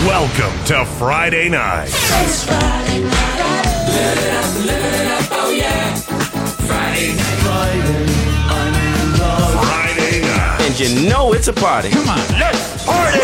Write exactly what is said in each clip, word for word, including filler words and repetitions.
Welcome to Friday night. It's Friday night. Live it up, live it up, oh yeah. Friday night. Friday, I'm in love. Friday night. And you know it's a party. Come on, let's party!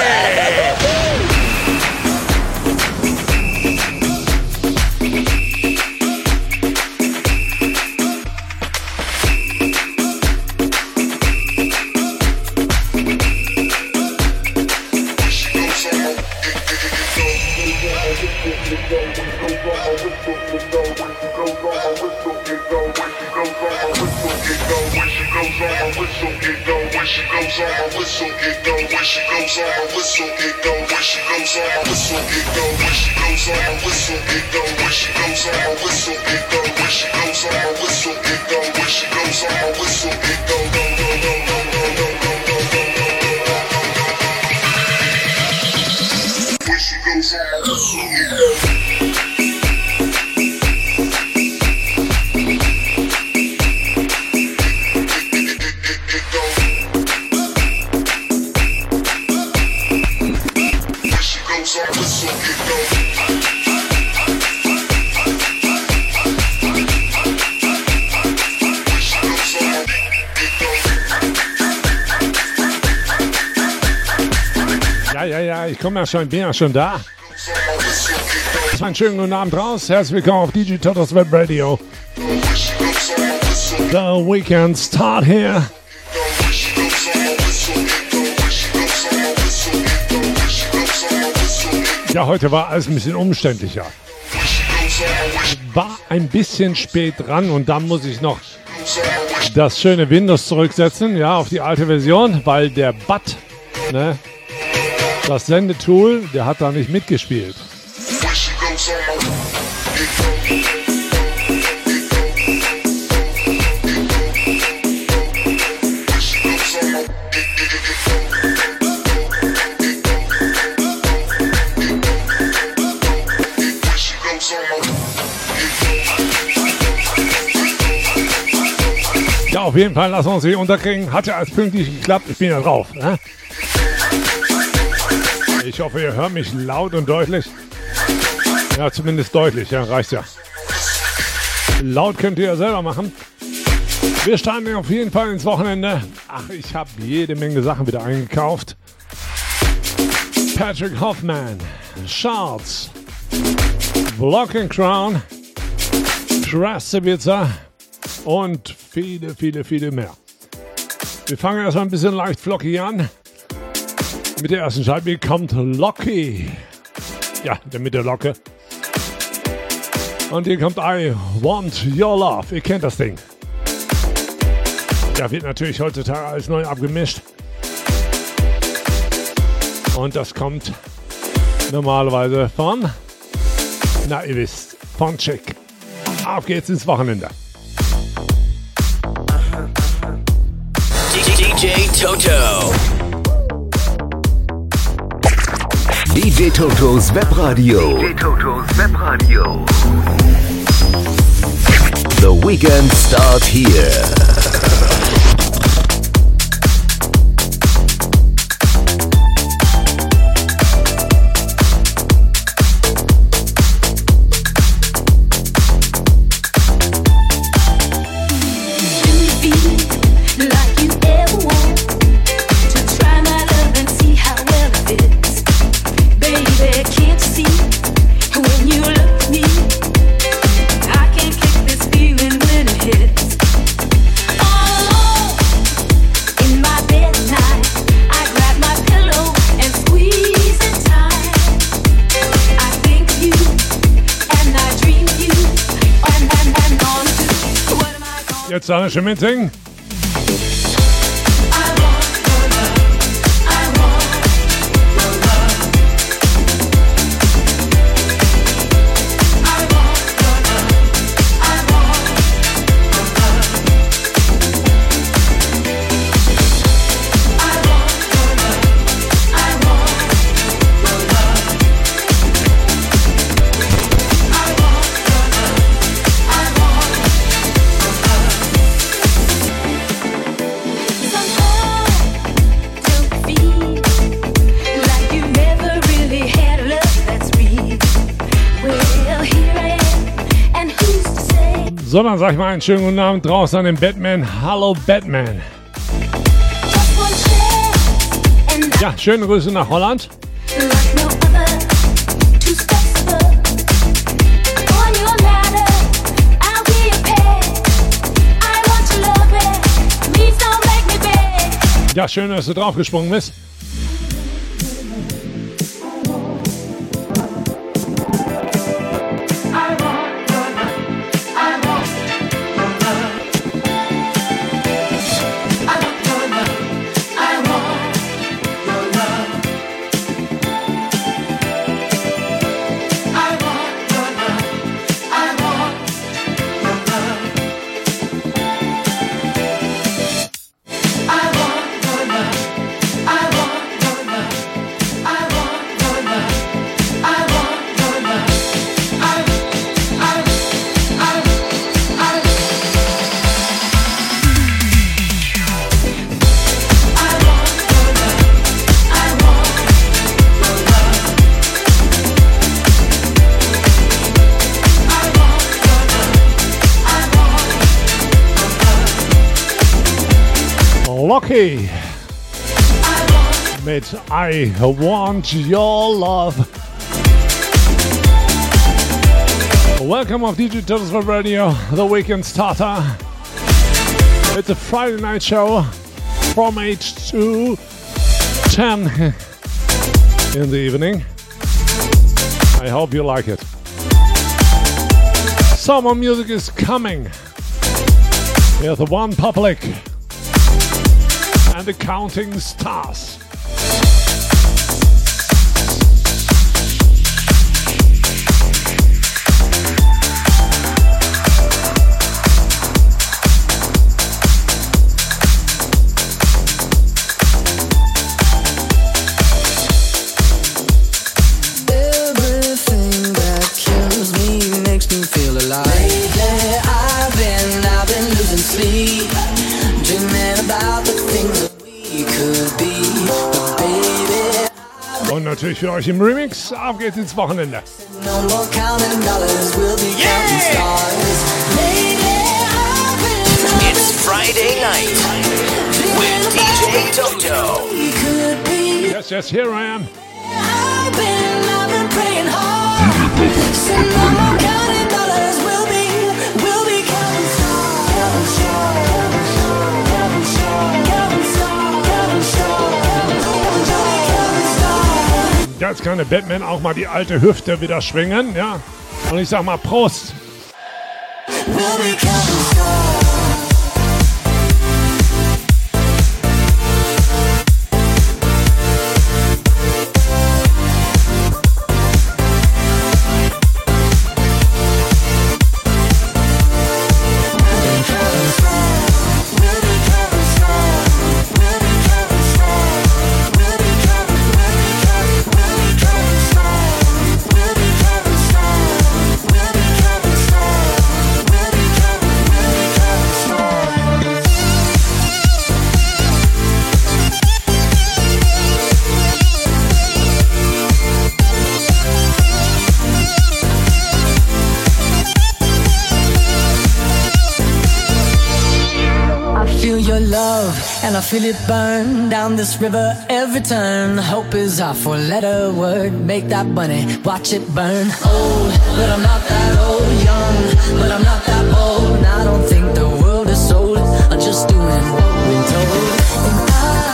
Ich komme ja schon, bin ja schon da. Einen schönen guten Abend raus. Herzlich willkommen auf D J Totos Web Radio. The weekend start here. Ja, heute war alles ein bisschen umständlicher. War ein bisschen spät dran und dann muss ich noch das schöne Windows zurücksetzen, ja, auf die alte Version, weil der B A T, ne, das Sendetool, der hat da nicht mitgespielt. Ja, auf jeden Fall lassen wir uns hier unterkriegen. Hat ja als pünktlich geklappt. Ich bin ja drauf. Ne? Ich hoffe, ihr hört mich laut und deutlich. Ja, zumindest deutlich. Ja, reicht ja. Laut könnt ihr ja selber machen. Wir starten auf jeden Fall ins Wochenende. Ach, ich habe jede Menge Sachen wieder eingekauft. Patrick Hoffman, Charles, Block and Crown, Krasavitsa und viele, viele, viele mehr. Wir fangen erstmal ein bisschen leicht flockig an. Mit der ersten Scheibe kommt Locky. Ja, der mit der Locke. Und hier kommt I Want Your Love. Ihr kennt das Ding. Ja, wird natürlich heutzutage alles neu abgemischt. Und das kommt normalerweise von, na ihr wisst, von Chick. Auf geht's ins Wochenende. D J Toto. D J Totos Webradio. D J Totos Webradio. The weekend starts here. Jetzt alle schon mitsingen. So, dann sag ich mal einen schönen guten Abend draußen an den Batman. Hallo Batman. Ja, schöne Grüße nach Holland. Ja, schön, dass du draufgesprungen bist. Locky mit I Want Your Love. Welcome of D J Toto's Web Radio, the weekend starter. It's a Friday night show from eight to ten in the evening. I hope you like it. Summer music is coming. Here's the One Public and the Counting Stars. Everything that kills me makes me feel alive. Lately I've been, I've been losing sleep, dreaming about the things that we could be. But baby, Und natürlich für euch im Remix, ab geht's ins Wochenende. no more counting dollars, we'll be counting stars. Lately I've been, It's Friday night with D J Toto. we could be. Yes, yes, here I am. I've been, I've been praying hard. Said no more counting dollars, we'll be, we'll be counting stars. Counting stars, counting stars, counting stars, counting stars, counting stars. Jetzt kann der Batman auch mal die alte Hüfte wieder schwingen, ja. Und ich sag mal Prost. We'll be counting stars. And I feel it burn down this river every turn. Hope is our four-letter word. Make that bunny, watch it burn. Old, but I'm not that old. Young, but I'm not that bold. And I don't think the world is sold. I'm just doing what we're told. And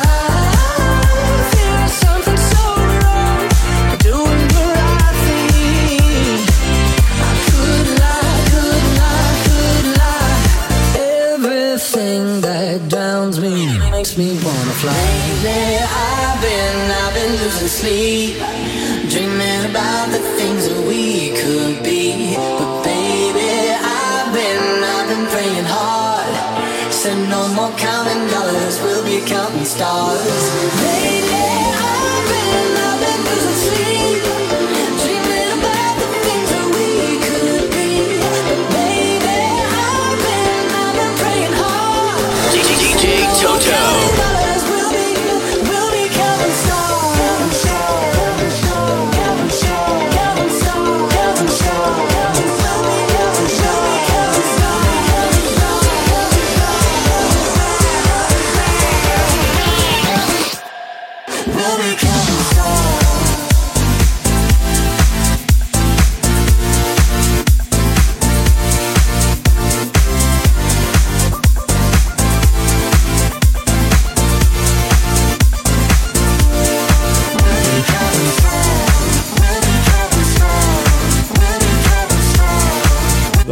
I feel something so wrong. Doing the right thing. I could lie, could lie, could lie. Everything that drowns me makes me wanna fly. Lately I've been, I've been losing sleep, dreaming about the things that we could be. But baby, I've been, I've been praying hard. Said no more counting dollars, we'll be counting stars. Lately I've been, I've been losing sleep, dreaming about the things that we could be. But baby, I've been, I've been praying hard. D J Toto.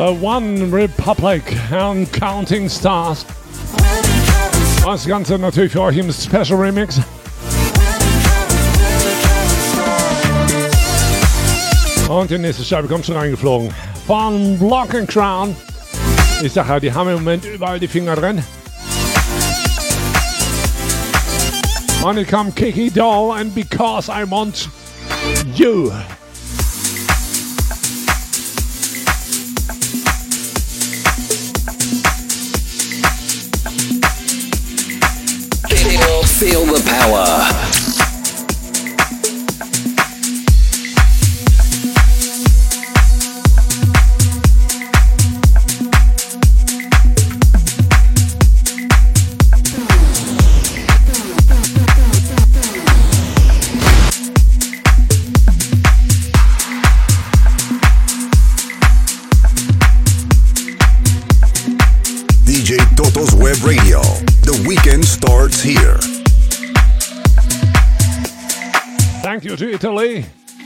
One Republic and Counting Stars. Das Ganze natürlich für euch im Special Remix. Und die nächste Scheibe kommt schon reingeflogen. Von Block and Crown. Ich sag ja, die haben im Moment überall die Finger drin. Und hier kommt Kiki Doll and Because I Want You. Feel the power. D J Toto's Web Radio. The weekend starts here. Thank you to Italy.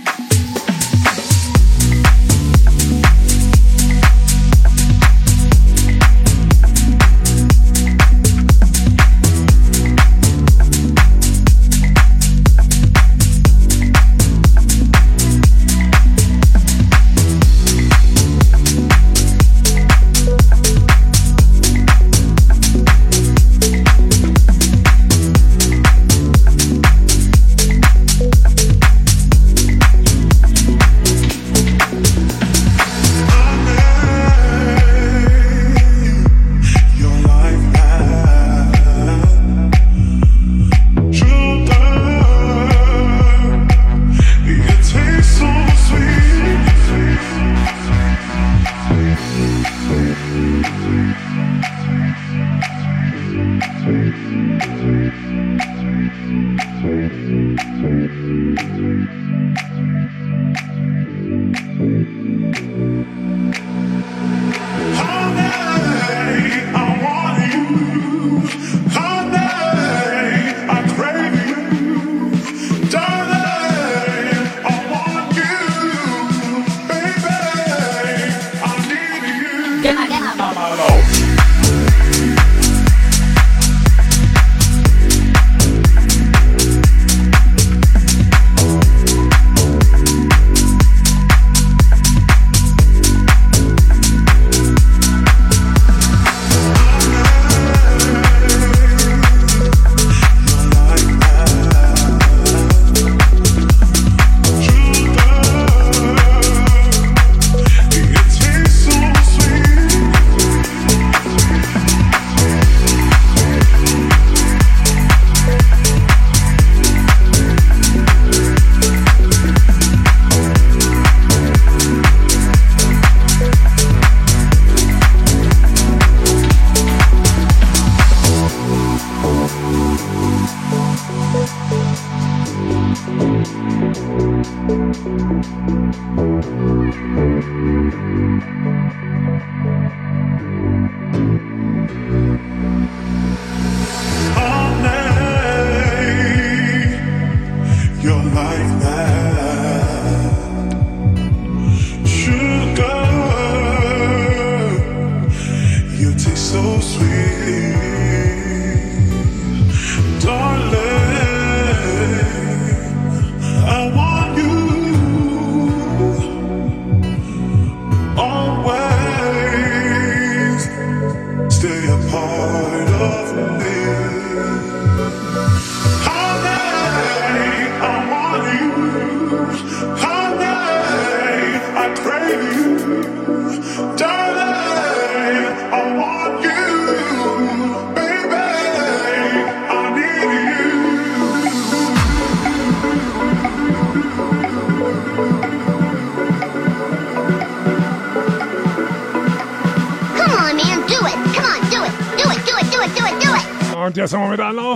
Und jetzt haben wir mit Anlauf.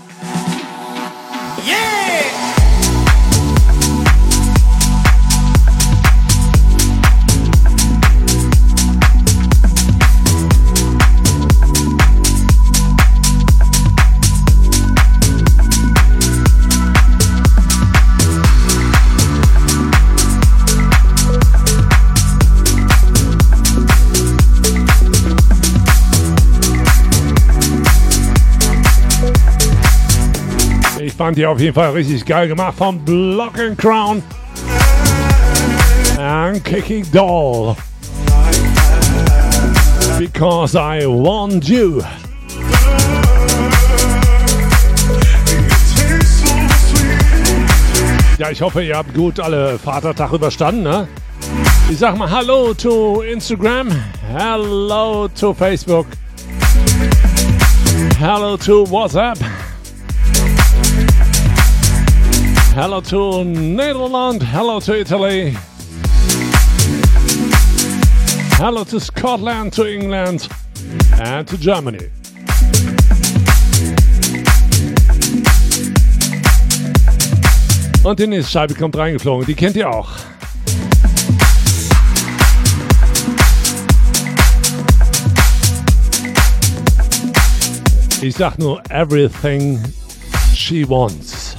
Yeah! fand die auf jeden Fall richtig geil gemacht von Block and Crown and Kicking Doll. Because I want you. Ja, ich hoffe, ihr habt gut alle Vatertag überstanden, ne? Ich sag mal Hallo to Instagram, Hello to Facebook, Hello to WhatsApp, Hello to Netherlands, Hello to Italy, Hello to Scotland, to England and to Germany. Und die nächste Scheibe kommt reingeflogen, die kennt ihr auch. Ich sag nur everything she wants.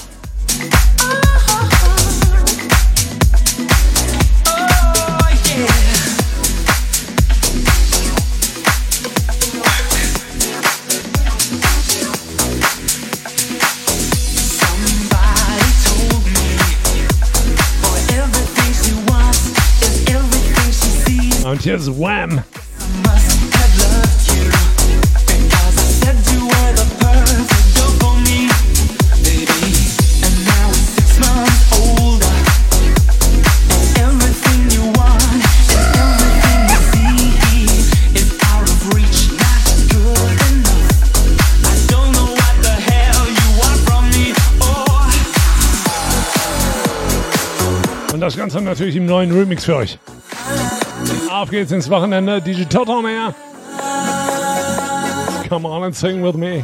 Und hier ist Wham! Und das Ganze natürlich im neuen Remix für euch. Auf geht's ins Wochenende, D J Toto on air. Come on and sing with me.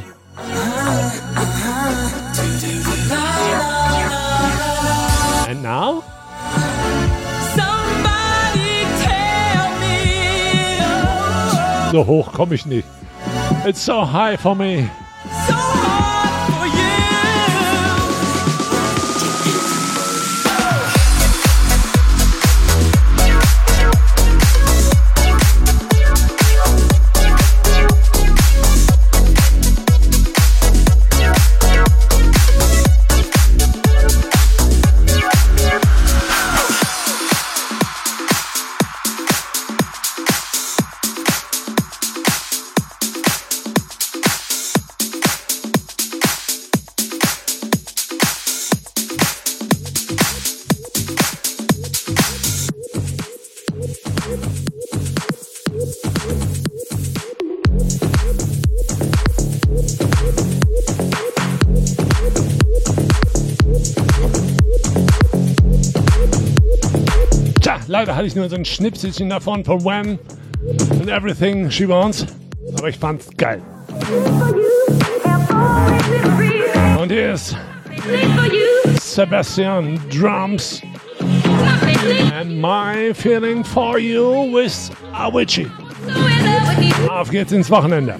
And now? Somebody tell me. So hoch komme ich nicht. It's so high for me. So hard for you. Leider hatte ich nur so ein Schnipselchen davon von Wham! And Everything She Wants. Aber ich fand's geil. Und hier ist Sebastian Drums and My Feeling For You with Avicii. Auf geht's ins Wochenende.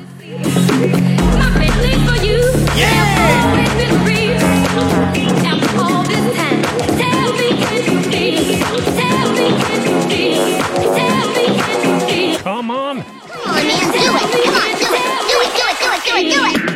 Come on. Come on, man, do it. Come on, do it. Do it, do it, do it, do it, do it.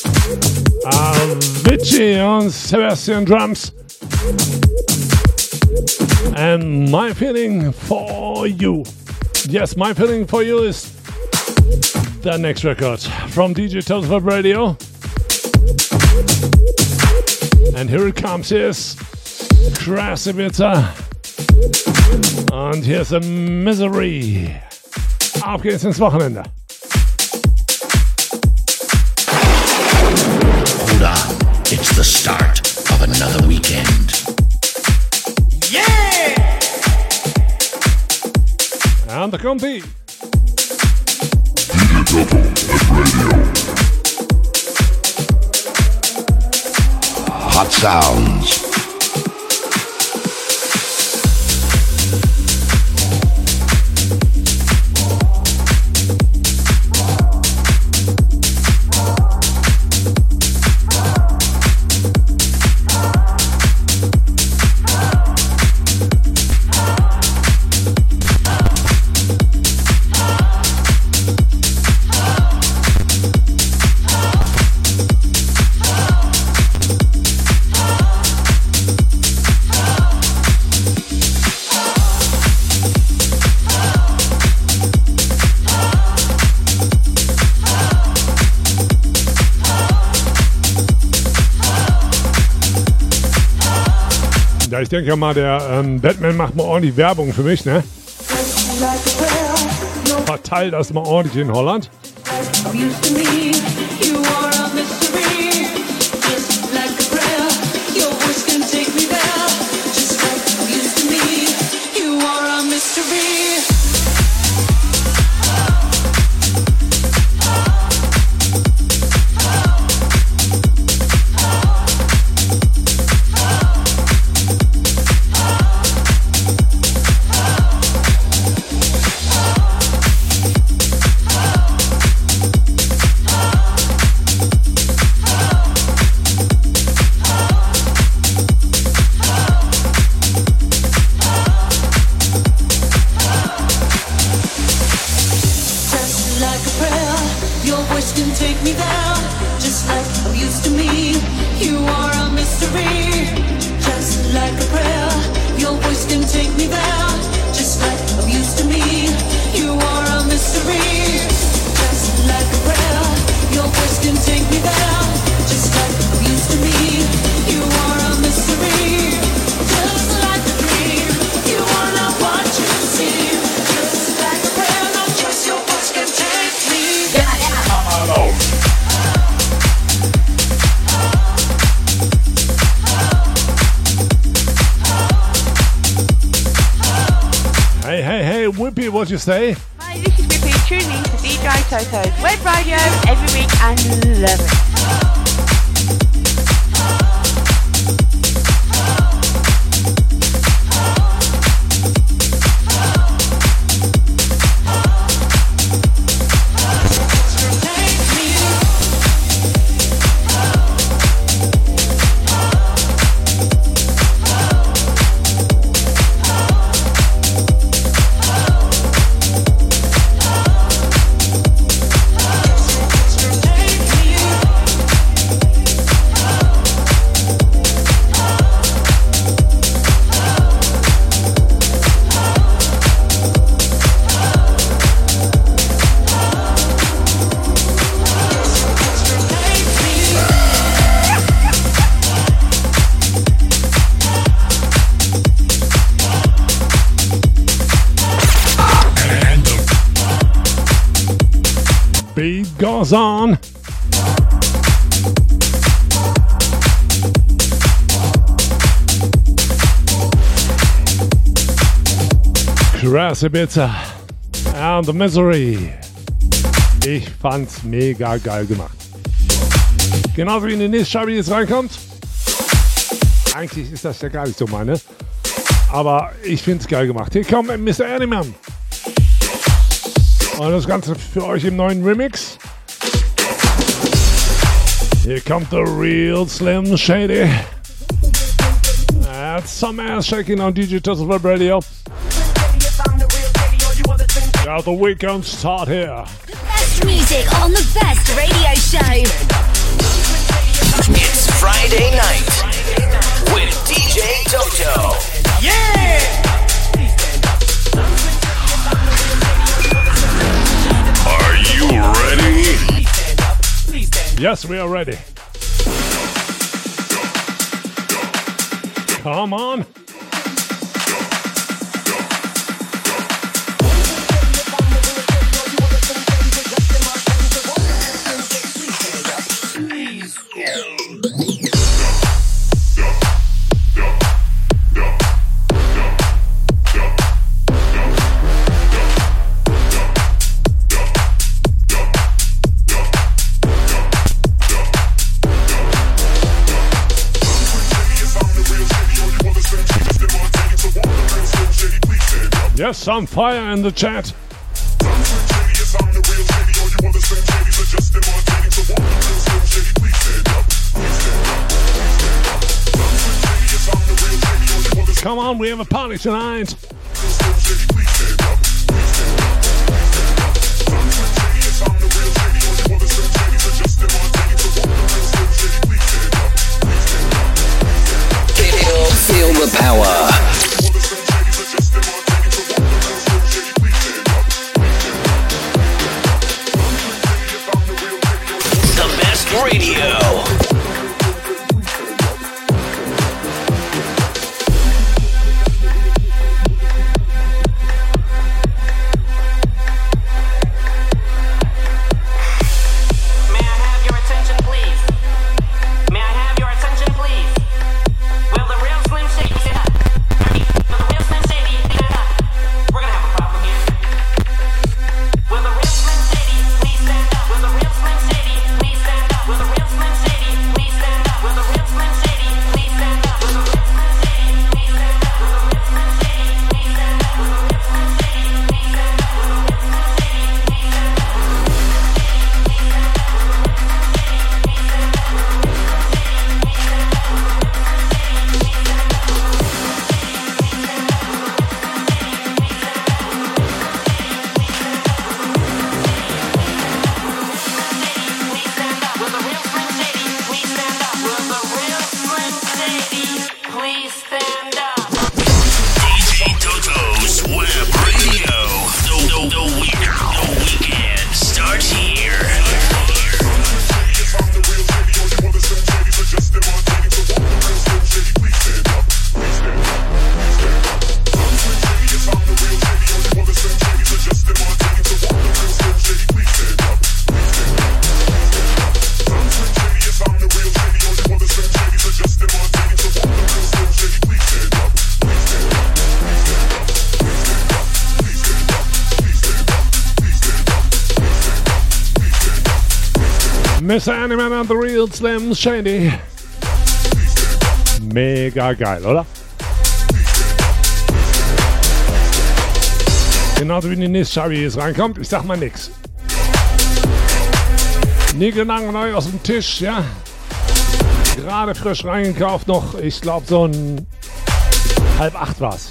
Avicii und Sebastian Drums. And My Feeling For You. Yes, My Feeling For You is the next record from D J Toto's Web Radio. And here it comes, here's Krasavitsa. Und hier ist Misery. Auf geht's ins Wochenende. Hold on, it's the start of another weekend. Yeah! And the compy. D J Toto at Radio. Hot sounds. Ja, ich denke mal, der ähm, Batman macht mal ordentlich Werbung für mich, ne? Verteilt das mal ordentlich in Holland. What you say? Hi, this is Whippy, tuning in to D J Toto's Web Radio every week and love it. Goes on. Krasavitsa and the Misery. Ich fand's mega geil gemacht. Genauso wie in die nächste Scheibe jetzt reinkommt. Eigentlich ist das ja gar nicht so meine. Aber ich find's geil gemacht. Hier kommt Mister Animan. Und das Ganze für euch im neuen Remix. Here comes the real Slim Shady. That's some ass shaking on D J Toto's Web Radio. Got the weekend start here. The best music on the best radio show. It's Friday night with D J Toto. Are you ready? Yes, we are ready. Come on. Yes, some fire in the chat. Come on, we have a party tonight. Feel, feel the power. Radio. Mister Animan and the Real Slim Shady. Mega geil, oder? Genauso wie die nächste Scheibe jetzt reinkommt, ich sag mal nix. Niegelnagel neu aus dem Tisch, ja. Gerade frisch reingekauft noch, ich glaube so ein halb acht war's.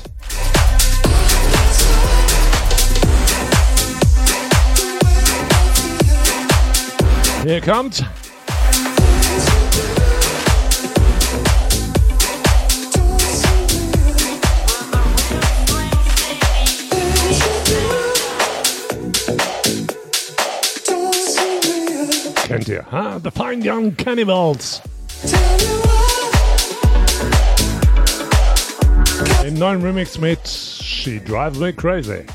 Hier kommt kennt ihr, ha? The Fine Young Cannibals. Im neuen Remix mit She Drives Me Crazy.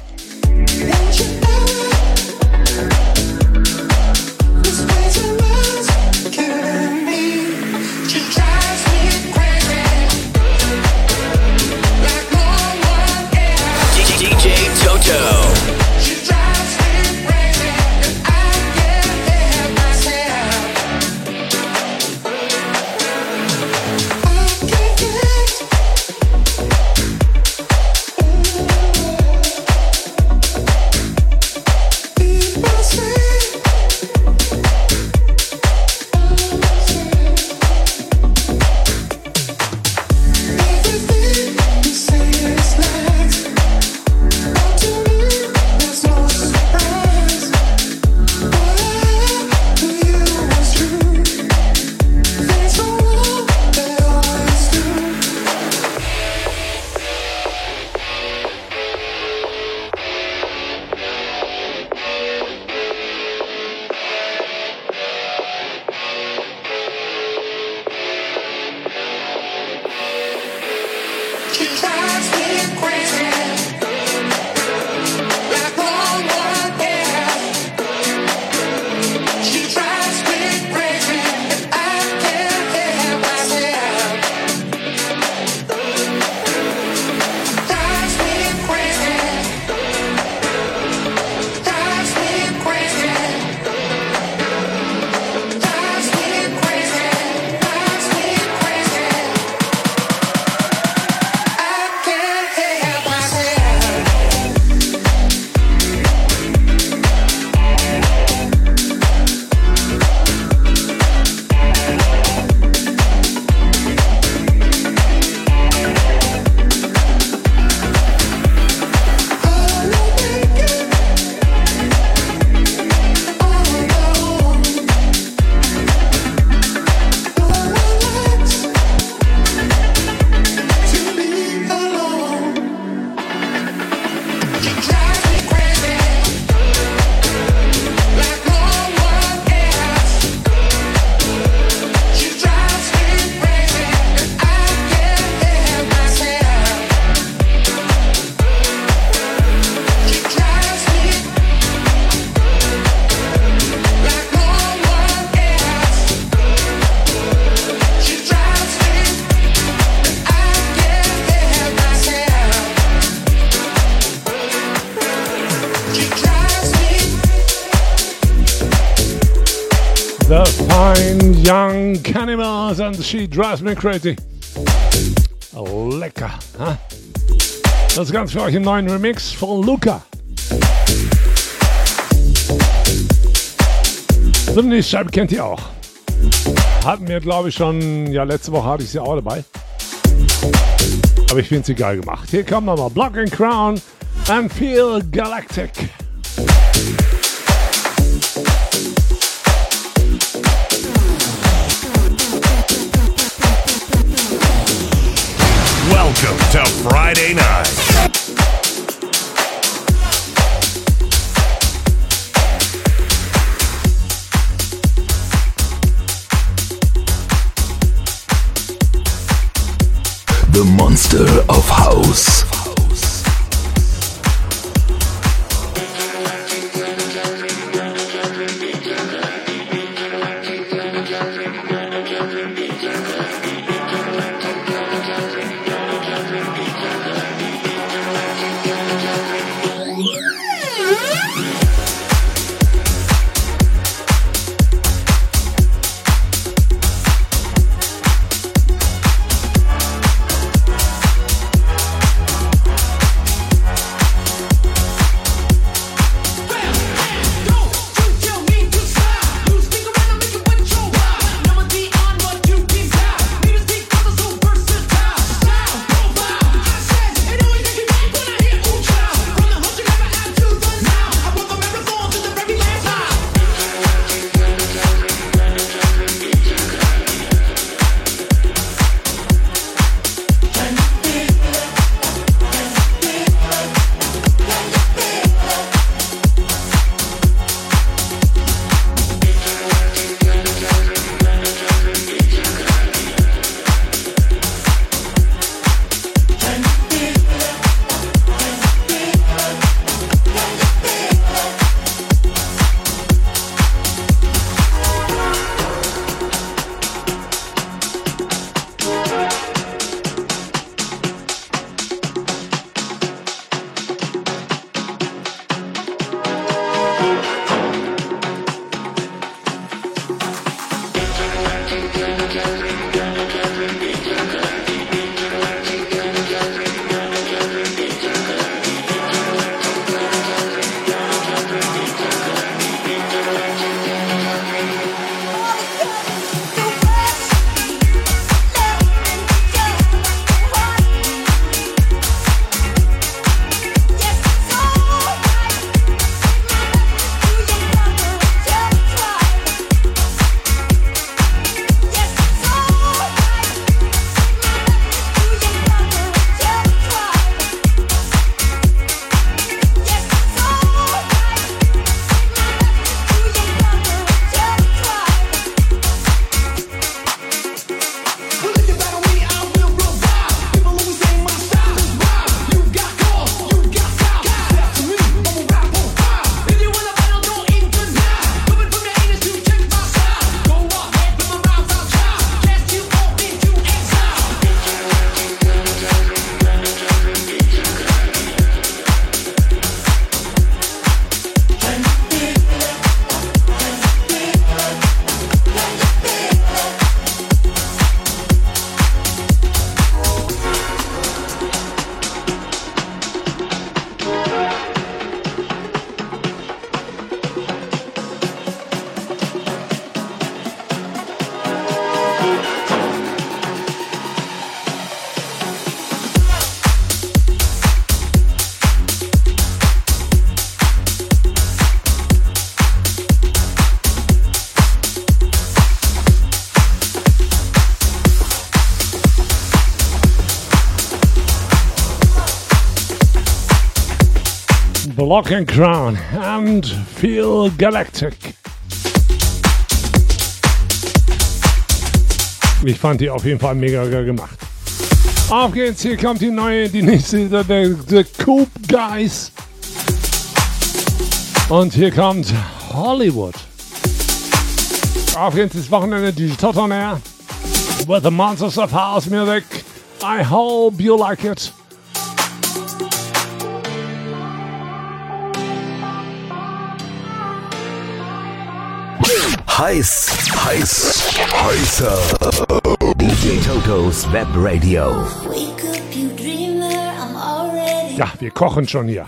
The Fine Young Cannibals and She Drives Me Crazy. Lecker, ha? Das Ganze für euch im neuen Remix von Luca. So eine Scheibe kennt ihr auch. Hatten wir, glaube ich, schon, ja, letzte Woche hatte ich sie auch dabei. Aber ich finde sie geil gemacht. Hier kommt nochmal Block and Crown and Feel Galactic. Welcome to Friday night. The Monster of House. Block and Crown and Feel Galactic. Ich fand die auf jeden Fall mega geil gemacht. Auf geht's, hier kommt die neue, die nächste, der, der Coop Guys. Und hier kommt Hollywood. Auf geht's, das Wochenende, die Toto on Air. With the Monsters of House Music. I hope you like it. Heiß, heiß, heißer. D J Totos Web Radio. Ja, wir kochen schon hier.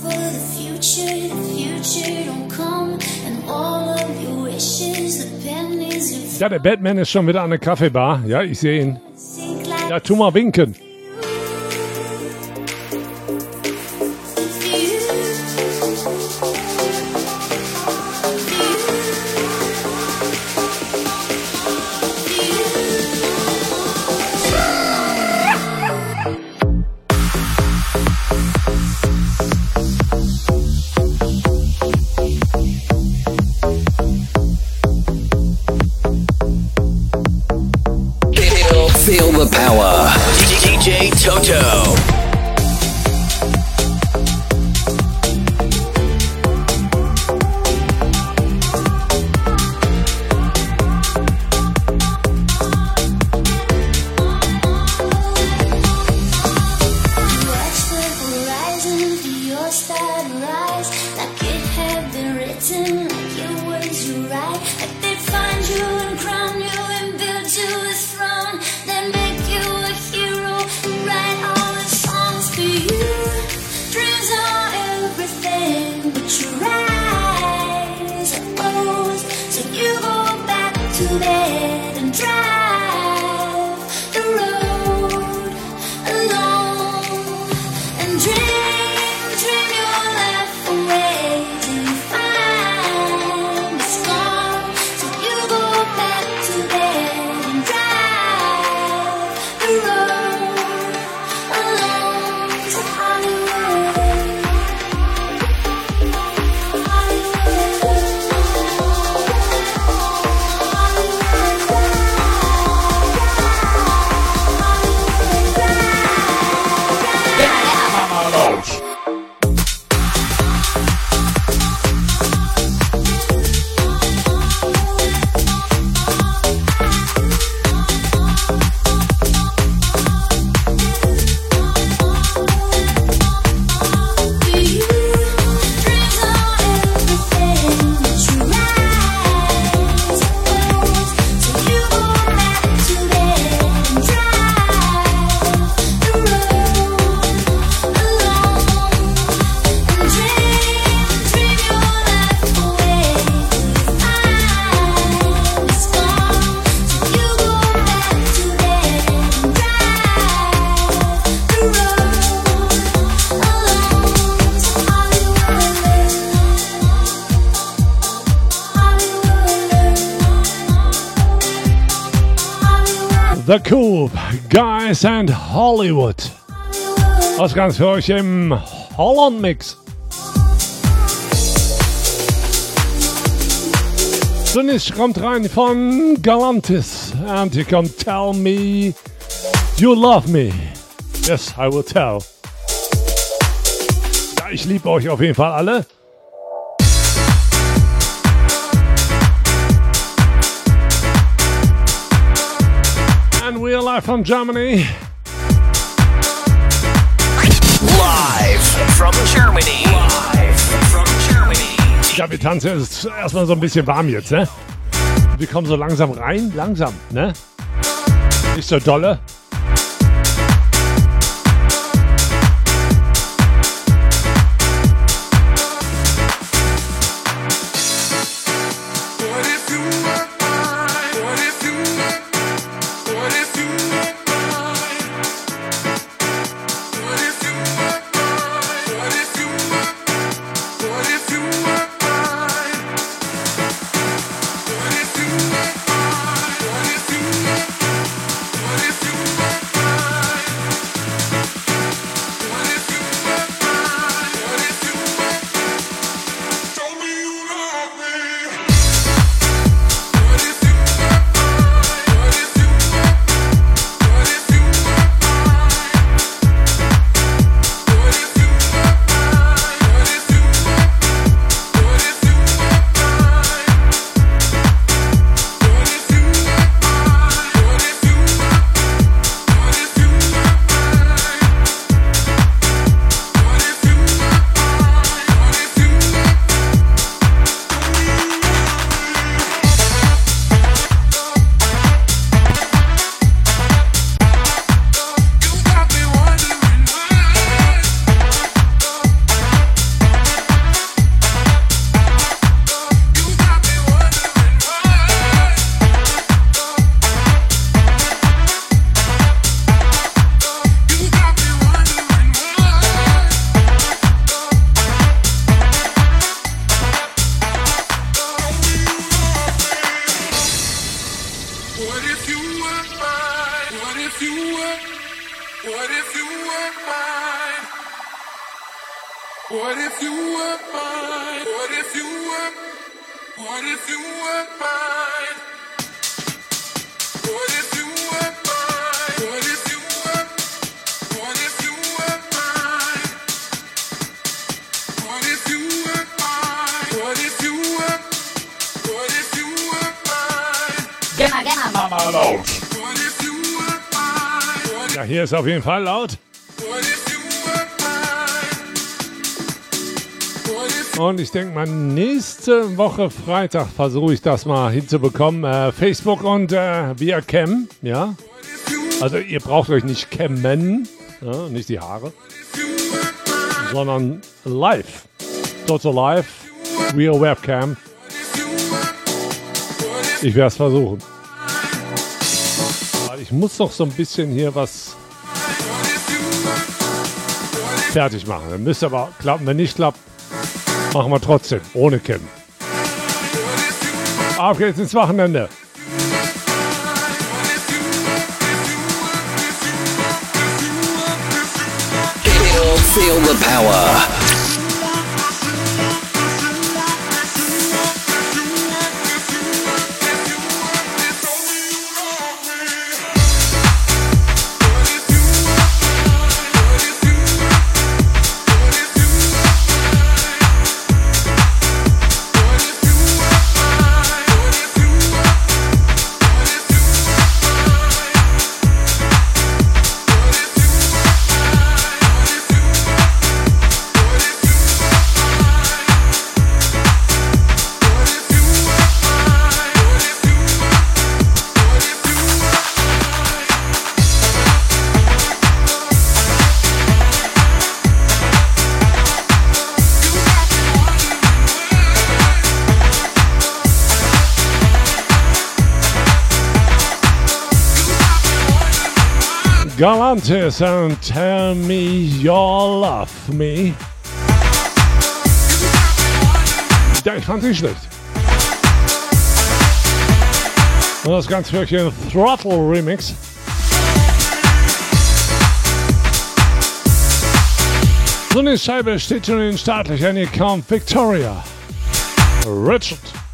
Ja, der Batman ist schon wieder an der Kaffeebar. Ja, ich sehe ihn. Ja, tu mal winken. Feel the power. D J Toto. The Coop, Guys and Hollywood. Was ganz für euch im Holland-Mix. Zunächst kommt rein von Galantis. And hier kommt Tell Me You Love Me. Yes, I will tell. Ja, ich liebe euch auf jeden Fall alle. And we're live from Germany. Live from Germany. Live from Germany. Ja, wir tanzen. Es ist erstmal so ein bisschen warm jetzt, ne? Wir kommen so langsam rein. Langsam, ne? Nicht so dolle. What if you What if you were mine? What if you were? What if you were mine? What if you were mine? What if you were? What if you were mine? What if you were mine? What if you were? What if you were mine? Geh mal, geh mal. Mama laut. What if you were mine? Ja, hier ist auf jeden Fall laut. What if you were mine? What if Und ich denke mal, nächste Woche Freitag versuche ich das mal hinzubekommen. Äh, Facebook und äh, via Cam, ja. Also ihr braucht euch nicht cammen, ja, nicht die Haare, sondern live. Total live, via Webcam. Ich werde es versuchen. Weil ich muss doch so ein bisschen hier was fertig machen. Dann müsste aber klappen. Wenn nicht klappt, machen wir trotzdem, ohne Cam. Auf geht's ins Wochenende. Feel the power. Galantis and Tell Me You Love Me. Ja, ich fand sie schlecht. Und das Ganze für euch ein Throttle Remix. So eine Scheibe steht schon in den Startlöchern. Hier kommt Victoria. Richard.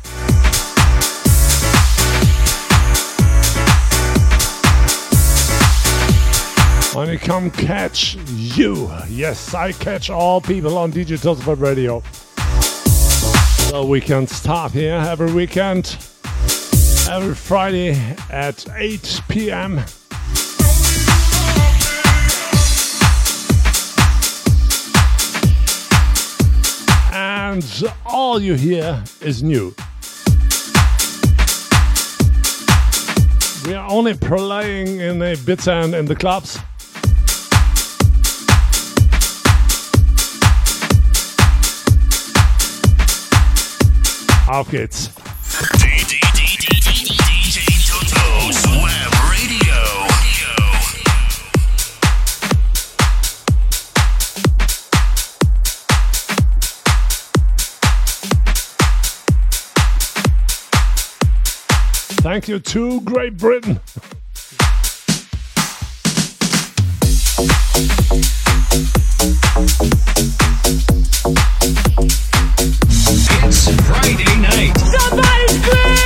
And you come catch you. Yes, I catch all people on D J Totos Web Radio. So we can start here every weekend, every Friday at eight p.m. And all you hear is new. We are only playing in the bits and in the clubs. Auf geht's. D J Totos Web Radio. Thank you to Great Britain. It's Friday night. Somebody scream!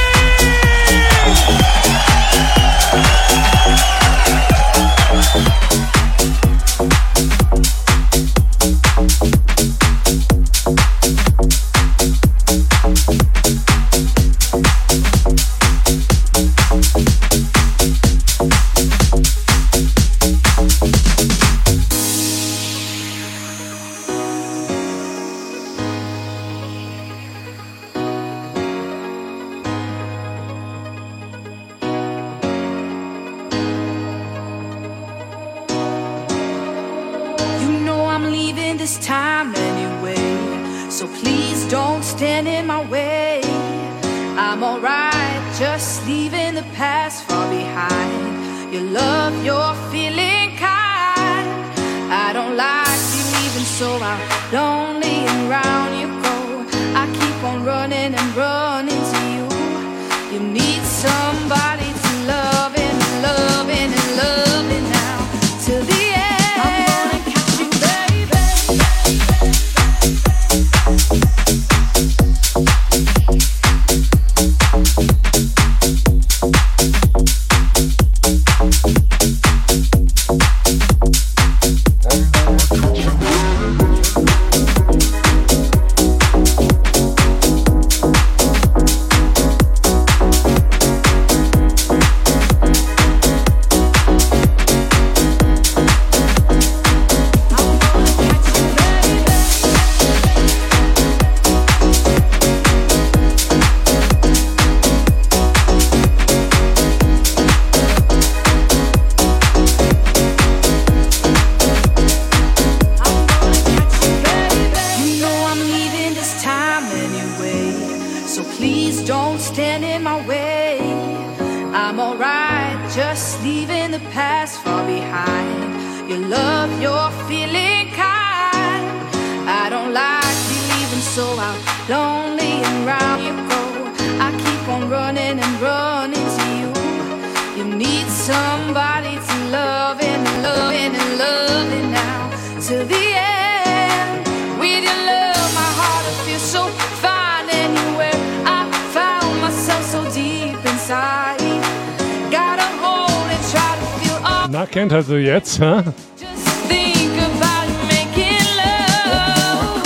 don't stand in my way. I'm alright, just leaving the past far behind. Your love, you're feeling kind. I don't like you leaving, so I'm lonely and round you go. I keep on running and running to you. You need somebody to love and love and love it now till the end. With your love, my heart will feel so fine anywhere. I found myself so deep inside. Gotta hold and try to feel all. Na, kennt also jetzt, hä? Just think about making love.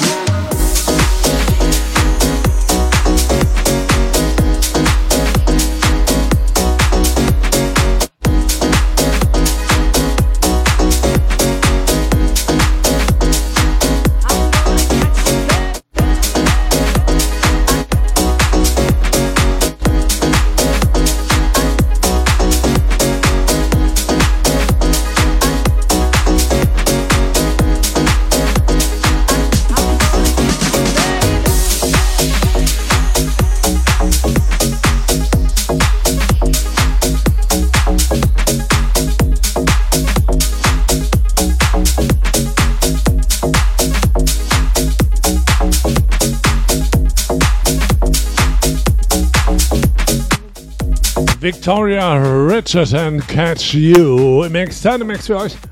Victoria Richard and Catch You im Externe Mix für euch.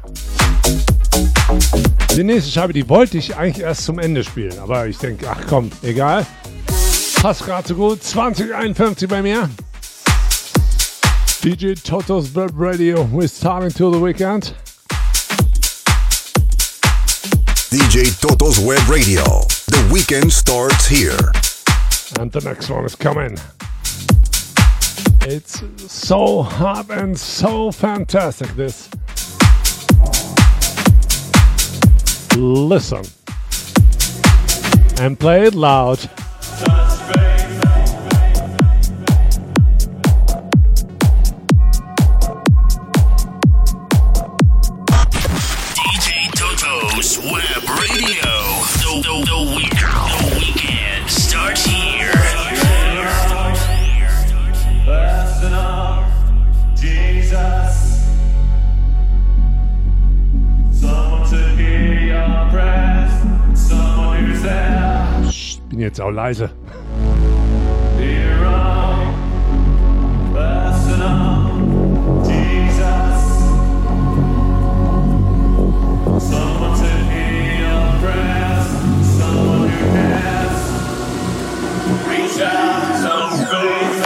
Die nächste Scheibe, die wollte ich eigentlich erst zum Ende spielen, aber ich denke, ach komm, egal. Passt gerade so gut. zwanzig einundfünfzig bei mir. D J Toto's Web Radio, we're starting to the weekend. D J Toto's Web Radio, the weekend starts here. And the next one is coming. It's so hot and so fantastic, this. Listen. And play it loud. D J Toto's Web Radio. The, the, the, week, the weekend starts here. Jesus, someone to hear your breath, someone who's there. Ich bin jetzt auch leise. Hero, personal, Jesus, someone to hear your breath, someone who cares. Reach out, some faith.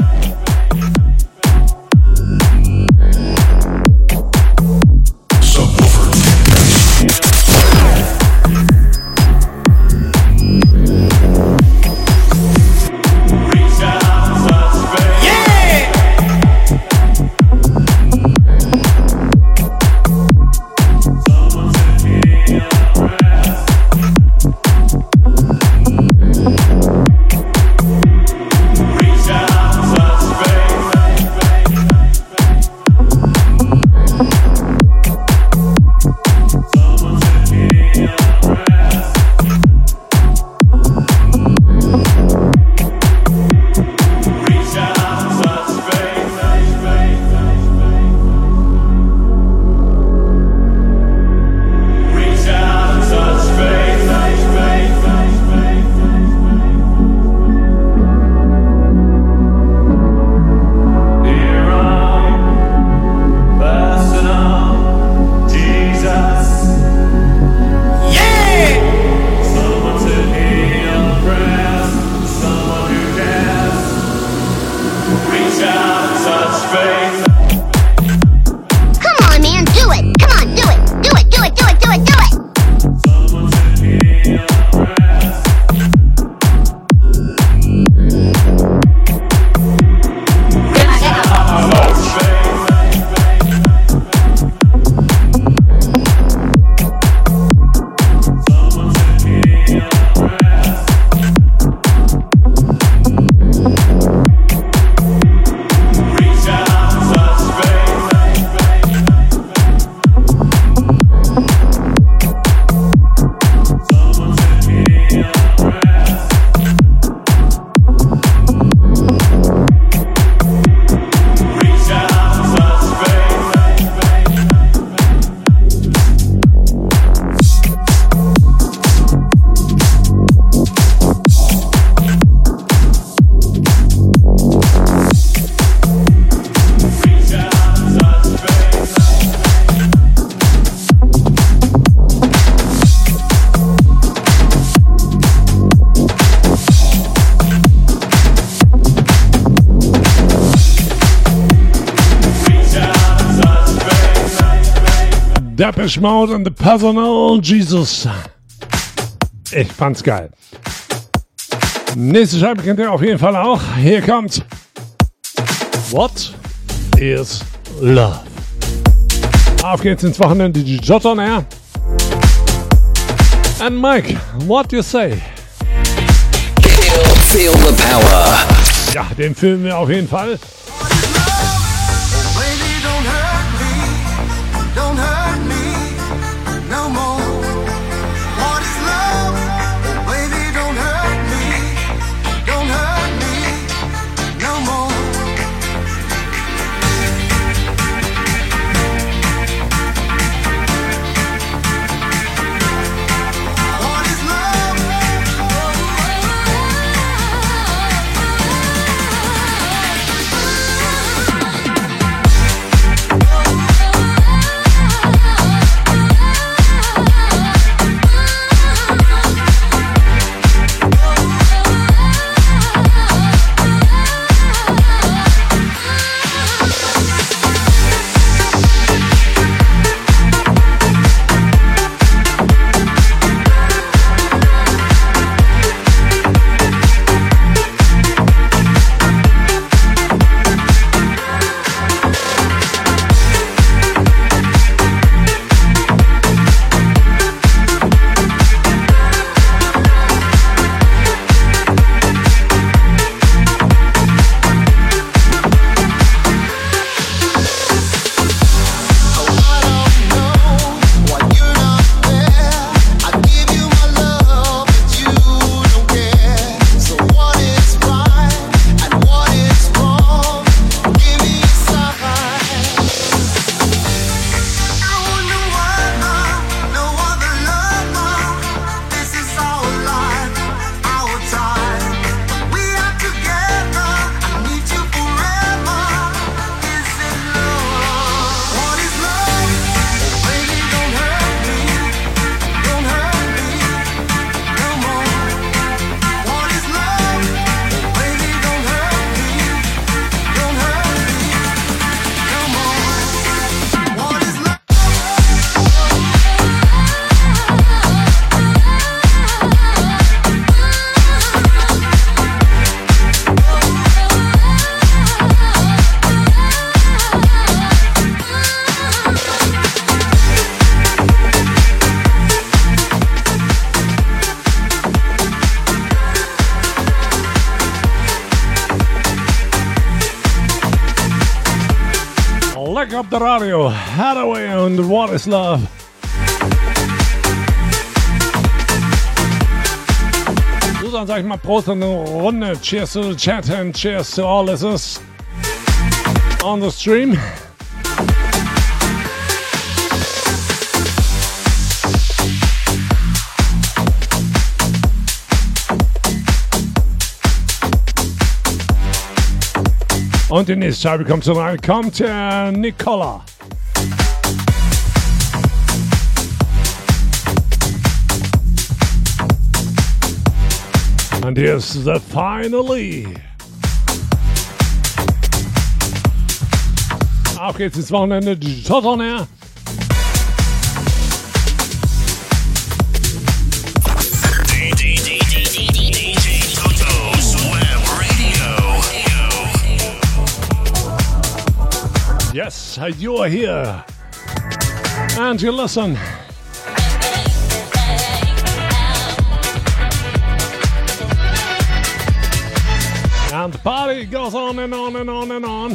Depeche Mode and the Personal Jesus. Ich fand's geil. Nächste Scheibe kennt ihr auf jeden Fall auch. Hier kommt What is Love? Auf geht's ins Wochenende, die Jot on Air. And Mike, what do you say? Feel the power. Ja, den filmen wir auf jeden Fall. Up the radio, Hathaway und What is Love. So, dann sag ich mal Prost in eine Runde. Cheers to the chat and cheers to all listeners on the stream. Und die nächste Scheibe kommt so rein, kommt der Nicola. Und hier ist The Finally. Auf geht's ins Wochenende, die Jot on Air. Yes, you are here, and you listen. And the party goes on and on and on and on.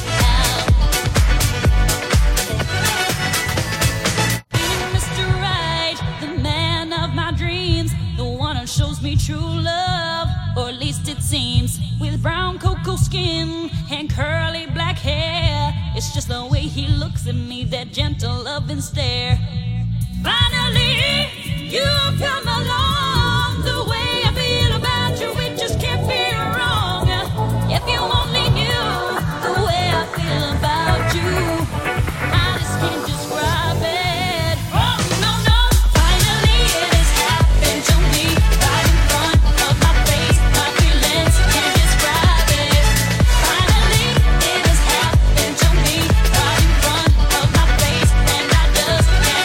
Mister Right, the man of my dreams, the one who shows me true love, or at least it seems, with brown cocoa skin and curly black hair. It's just the way he looks at me, that gentle loving stare. Finally, you've come along. The way I feel about you, it just can't be wrong. If you only knew the way I feel about you, I just can't describe it. Oh, no, no. Finally, it has happened to me, right in front of my face. My feelings can't describe it. Finally, it has happened to me, right in front of my face, and I just can't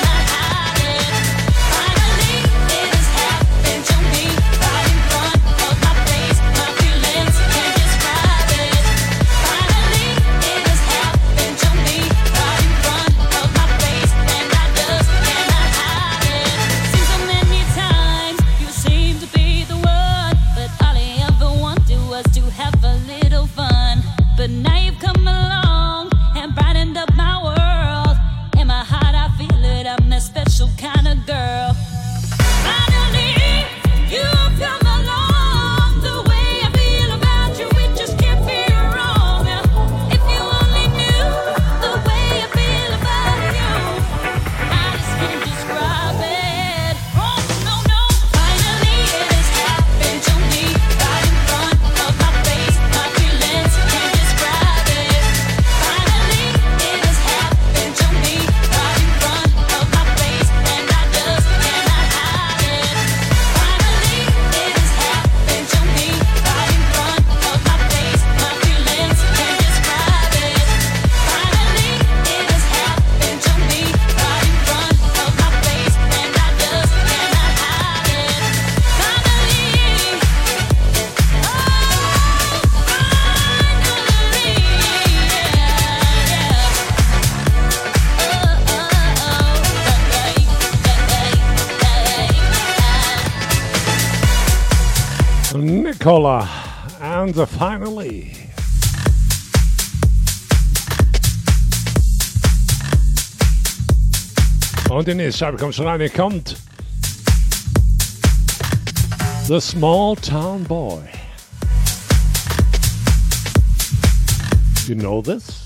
Nicola and finally. Und die nächste Scheibe kommt schon rein, hier kommt The Small Town Boy. You know this?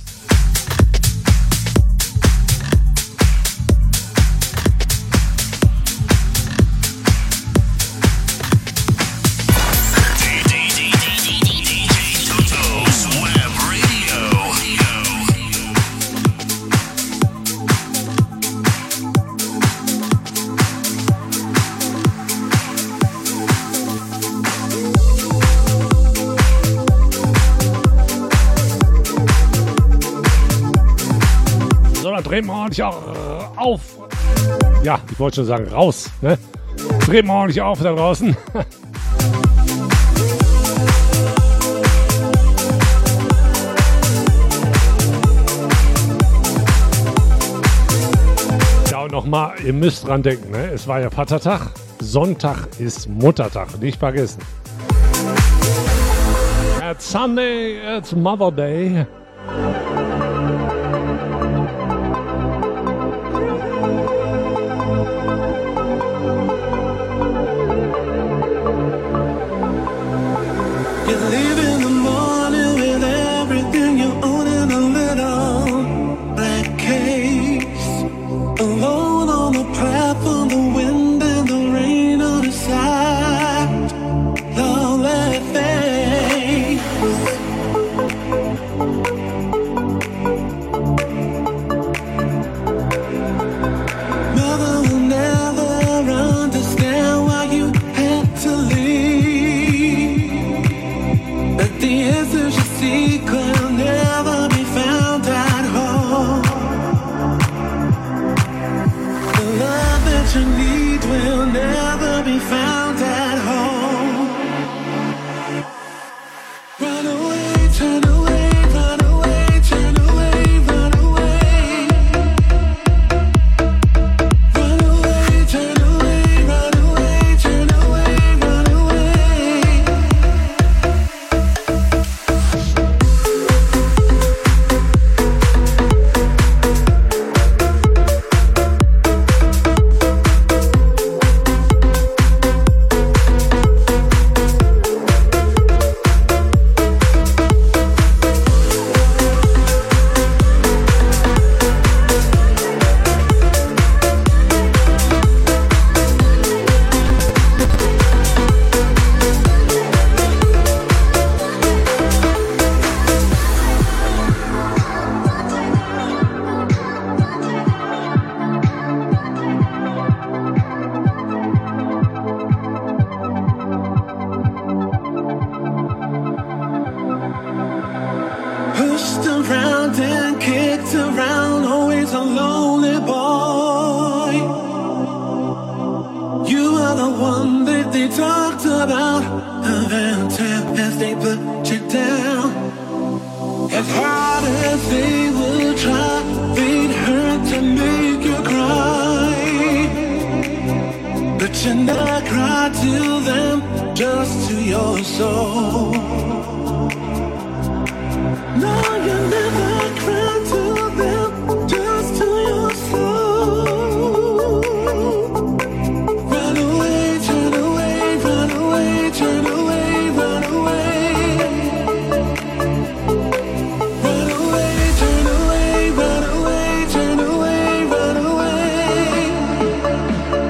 Drehen wir ordentlich auf. Ja, ich wollte schon sagen, raus. Ne? Drehen wir ordentlich auf da draußen. Ja, und nochmal, ihr müsst dran denken, ne? Es war ja Vatertag. Sonntag ist Muttertag. Nicht vergessen. It's Sunday, it's Mother Day.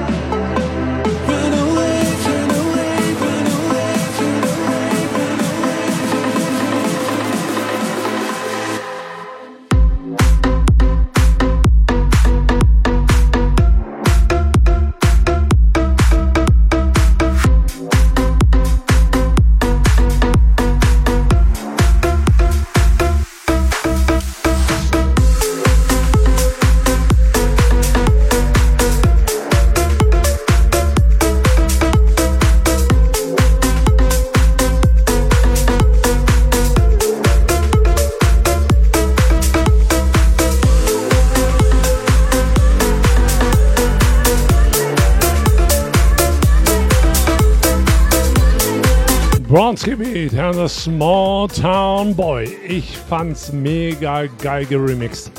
Run away, Bronski Beat and the Small Town Boy. Ich fand's mega geil geremixed.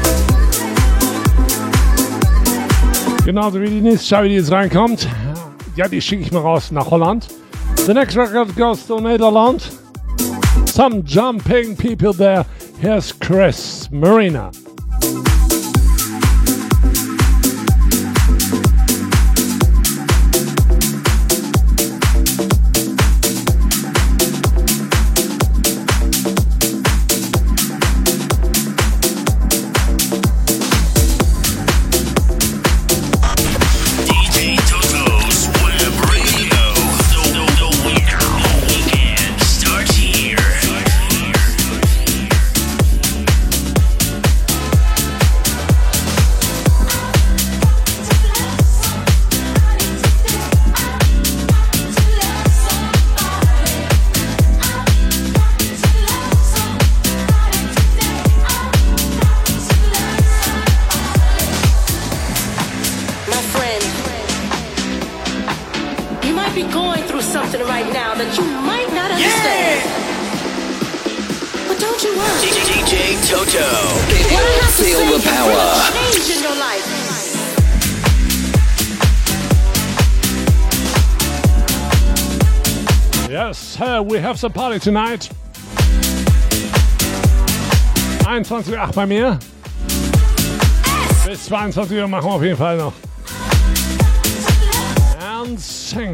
Genauso wie die nächste Scheibe, die jetzt reinkommt. Ja, die schicke ich mal raus nach Holland. The next record goes to Netherlands. Some jumping people there. Here's Chris Marina. We have some party tonight. einundzwanzig Uhr acht bei mir. Bis zweiundzwanzig Uhr machen wir auf jeden Fall noch. And sing.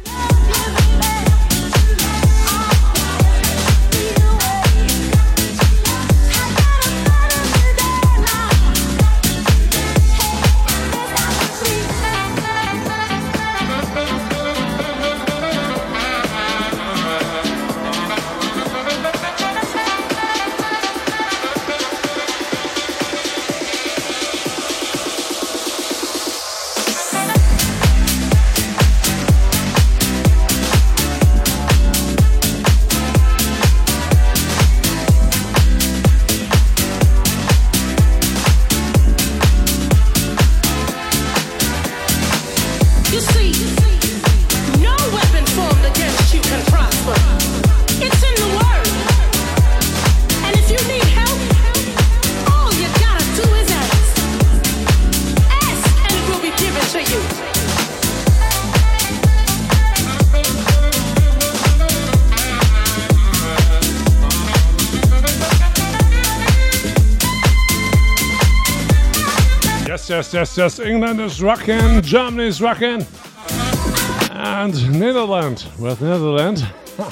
Yes, yes, yes. England is rocking, Germany is rocking, and Netherlands with Netherlands. Huh.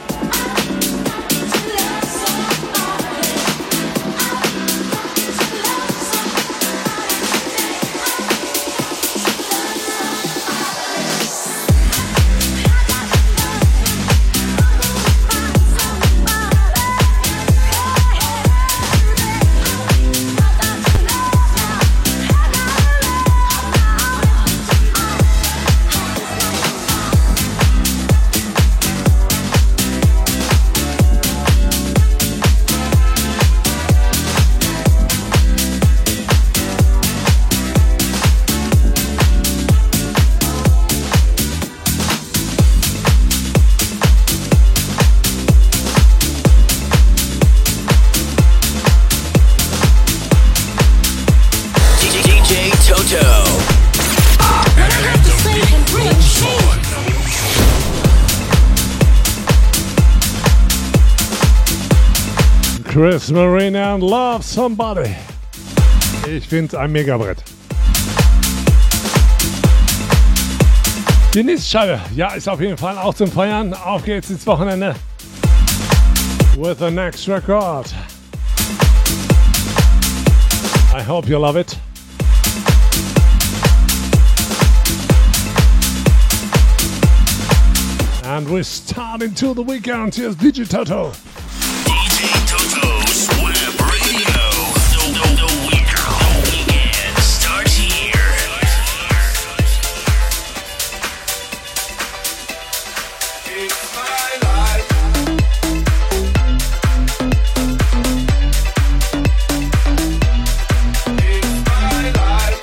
Chris Marina and Love Somebody. Ich finde ein Megabrett. Die nächste Scheibe, ja, ist auf jeden Fall auch zum Feiern. Auf geht's ins Wochenende. With the next record. I hope you love it. And we're starting to the weekend. Here's D J Toto. D J Toto's Web Radio. The, the, the, week, the weekend starts here. It's my life. It's my life.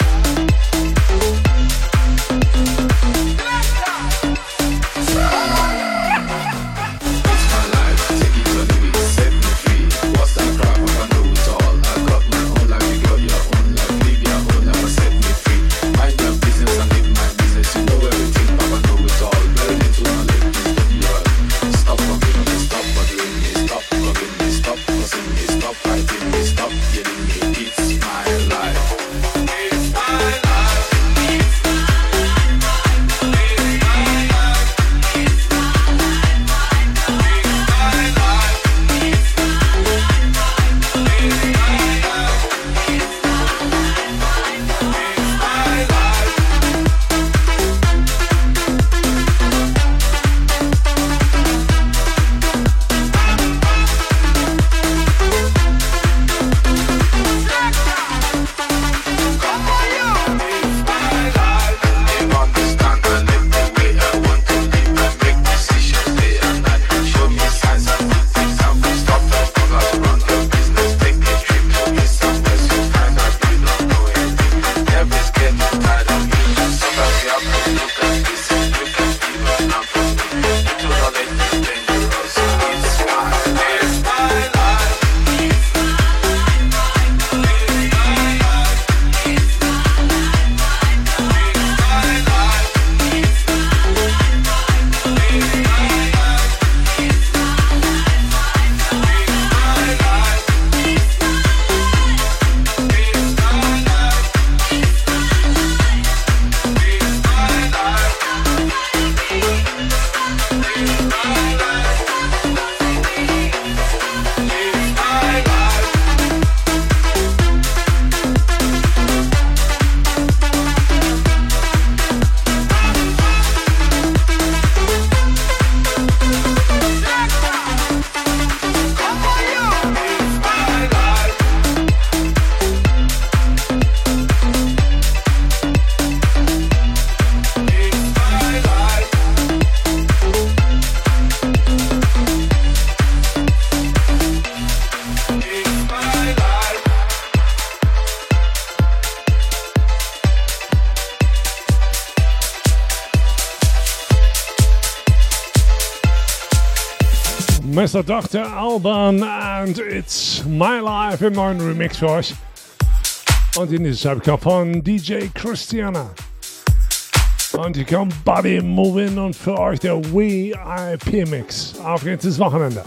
Mister Doktor Alban and It's My Life im neuen Remix für euch. Und die nächste Scheibe kommt von D J Christiana. Und hier kommt Body Moving und für euch der V I P Mix. Auf geht's ins Wochenende.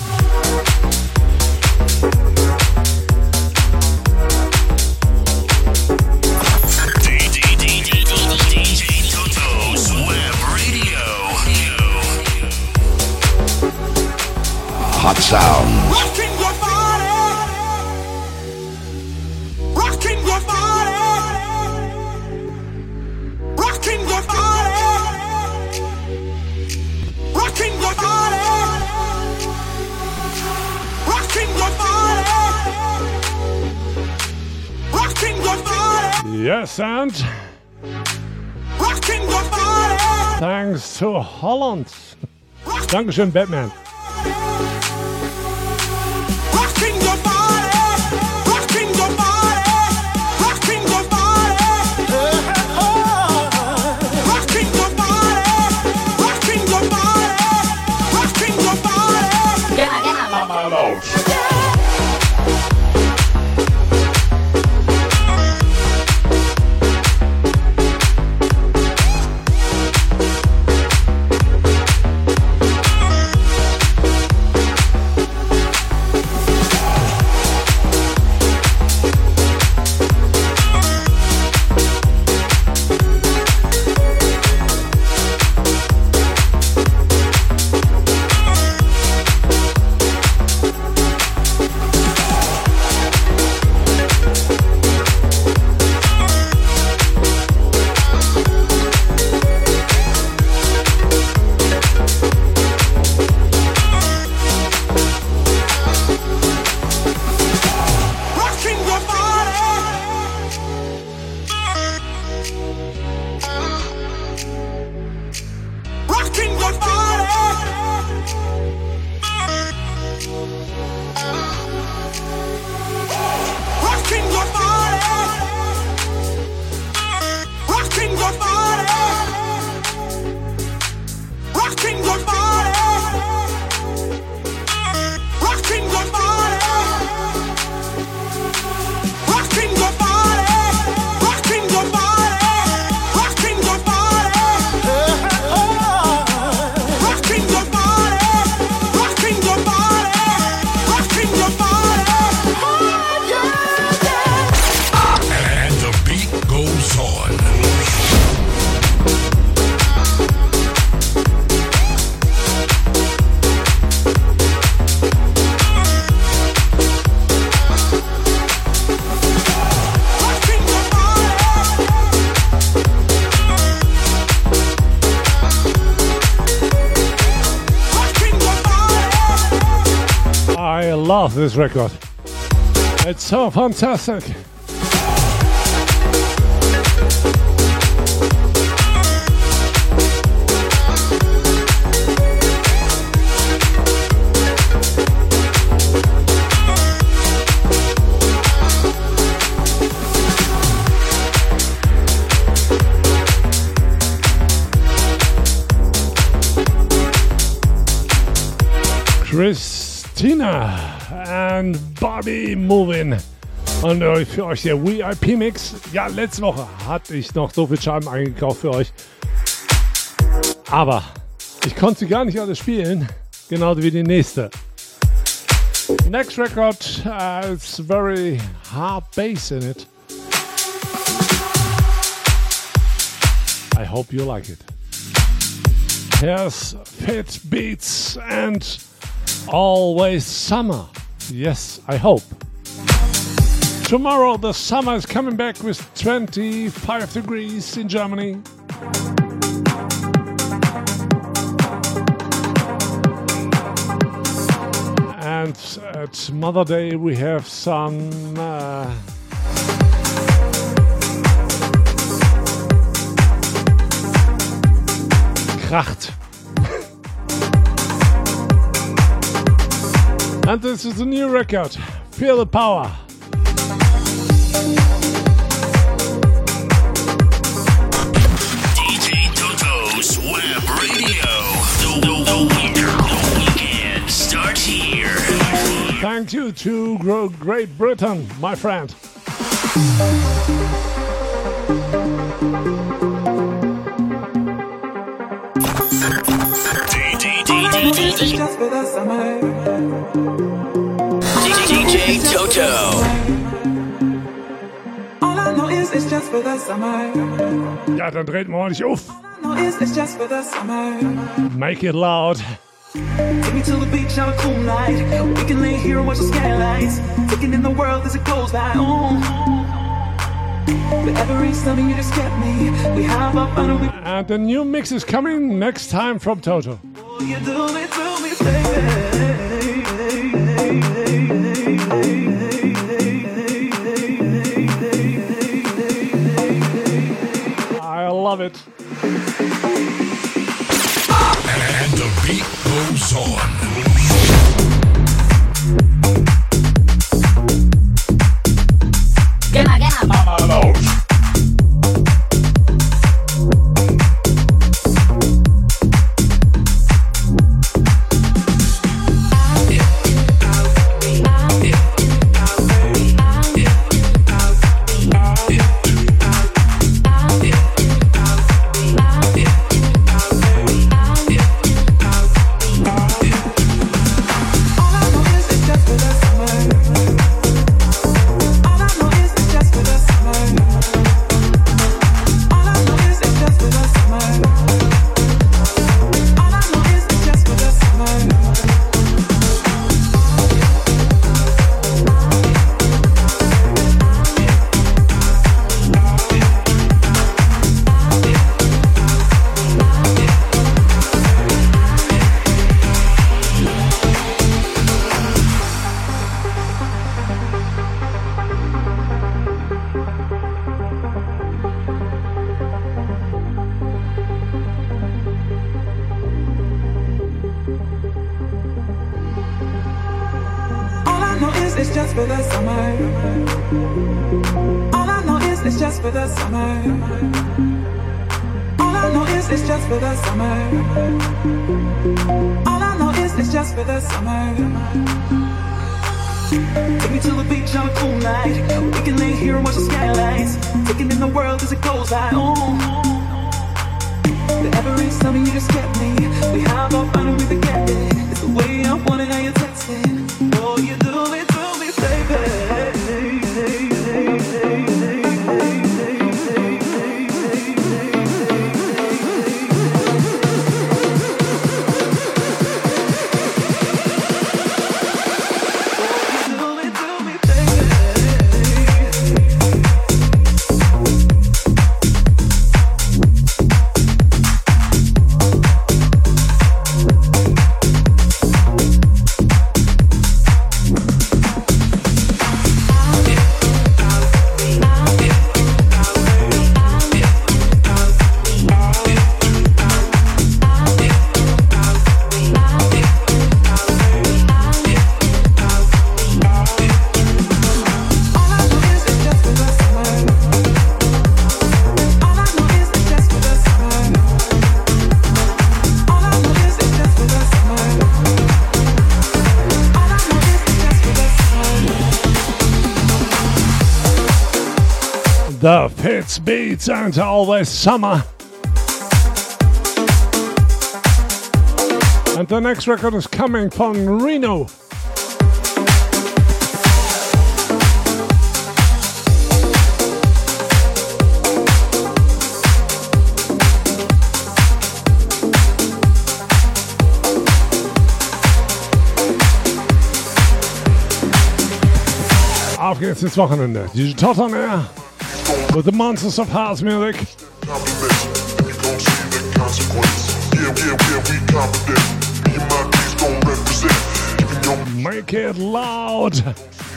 Hot sound. Rocking your body. Rocking your body. Rocking your body. Rocking your body. Rocking your body. Rocking your body. Yes, and Rocking your body. thanks to Holland. Dankeschön, Batman. Rocking your body, rocking your body, rocking your body, rocking your body, rocking your body, rocking your body. Get out, get out, Mama Loach. Love this record. It's so fantastic. Christina and Body Moving. Und äh, für euch der V I P Mix. Ja, letzte Woche hatte ich noch so viel Scheiben eingekauft für euch. Aber ich konnte sie gar nicht alle spielen. Genau wie die nächste. Next record, uh, it's very hard bass in it. I hope you like it. Here's Fit Beats and Always Summer. Yes, I hope. Tomorrow the summer is coming back with twenty-five degrees in Germany. And at Mother Day we have some uh, Kracht. And this is a new record. Feel the power. D J Toto's Web Radio. The, the, the, weekend, the weekend starts. sent you to Great Britain, my friend. D J Toto. All I know is it's just for the summer. Ja, dann dreht man ordentlich auf. All I know is it's just for the summer. Make it loud. Take me to the beach on a cool night. We can lay here and watch the skylights. Taking in the world as it goes by. Oh. But every summer you just get me. We have our fun and we. And the new mix is coming next time from Toto. Oh, you do it to me, baby. I love it. And the beat goes on. Get my, get my. The Fitz beats and always summer. And the next record is coming from Reno. Auf geht's ins Wochenende. D J Toto on air with the monsters of house music. Make it loud. The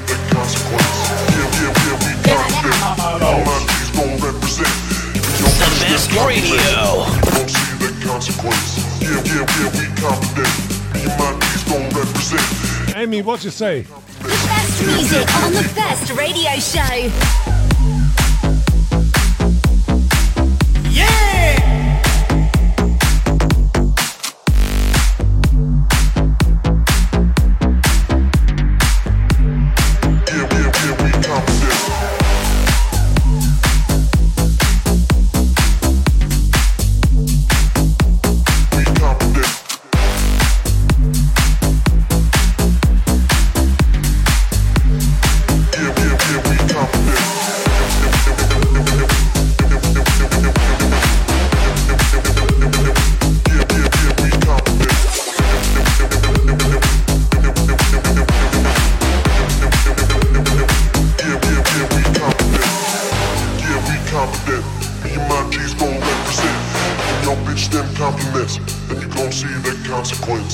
best radio. Amy, what you say? The best music on the best radio show.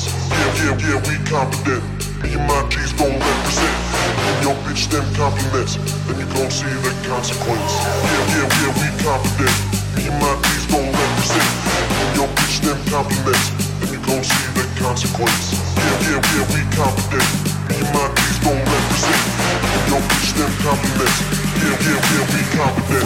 consequence. Yeah, yeah, yeah, we confident. Me and my G's gon' represent. When your bitch them compliments, then you gon' see the consequence. Yeah, yeah, yeah, we confident. Me and my G's gon' represent. When your bitch them compliments, then you gon' see the consequence. Yeah, yeah, yeah, we confident. Me and my G's gon' represent. When your bitch them compliments, yeah, yeah, yeah, we confident.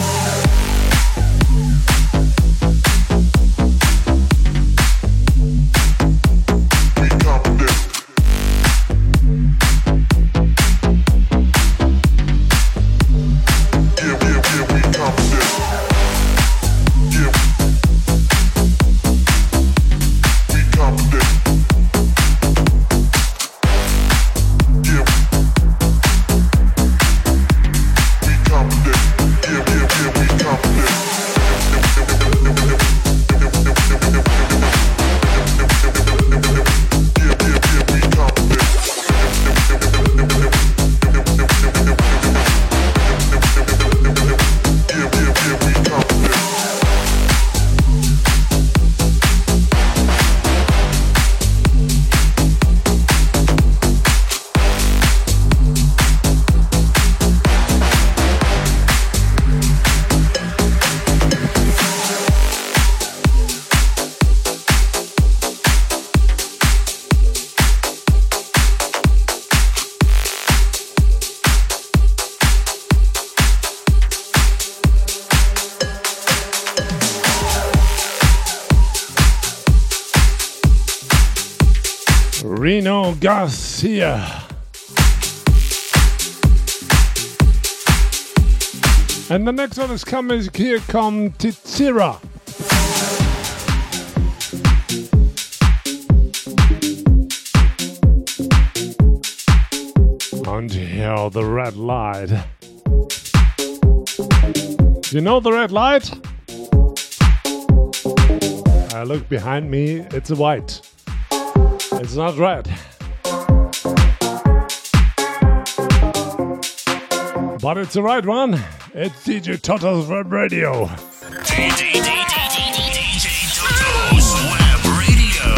Reno Garcia. And the next one is coming. Here come Titsira. And here the red light. You know the red light? I look behind me, it's white. It's not red. But it's the right one. It's D J Toto's Web Radio. D J Toto's Web Radio.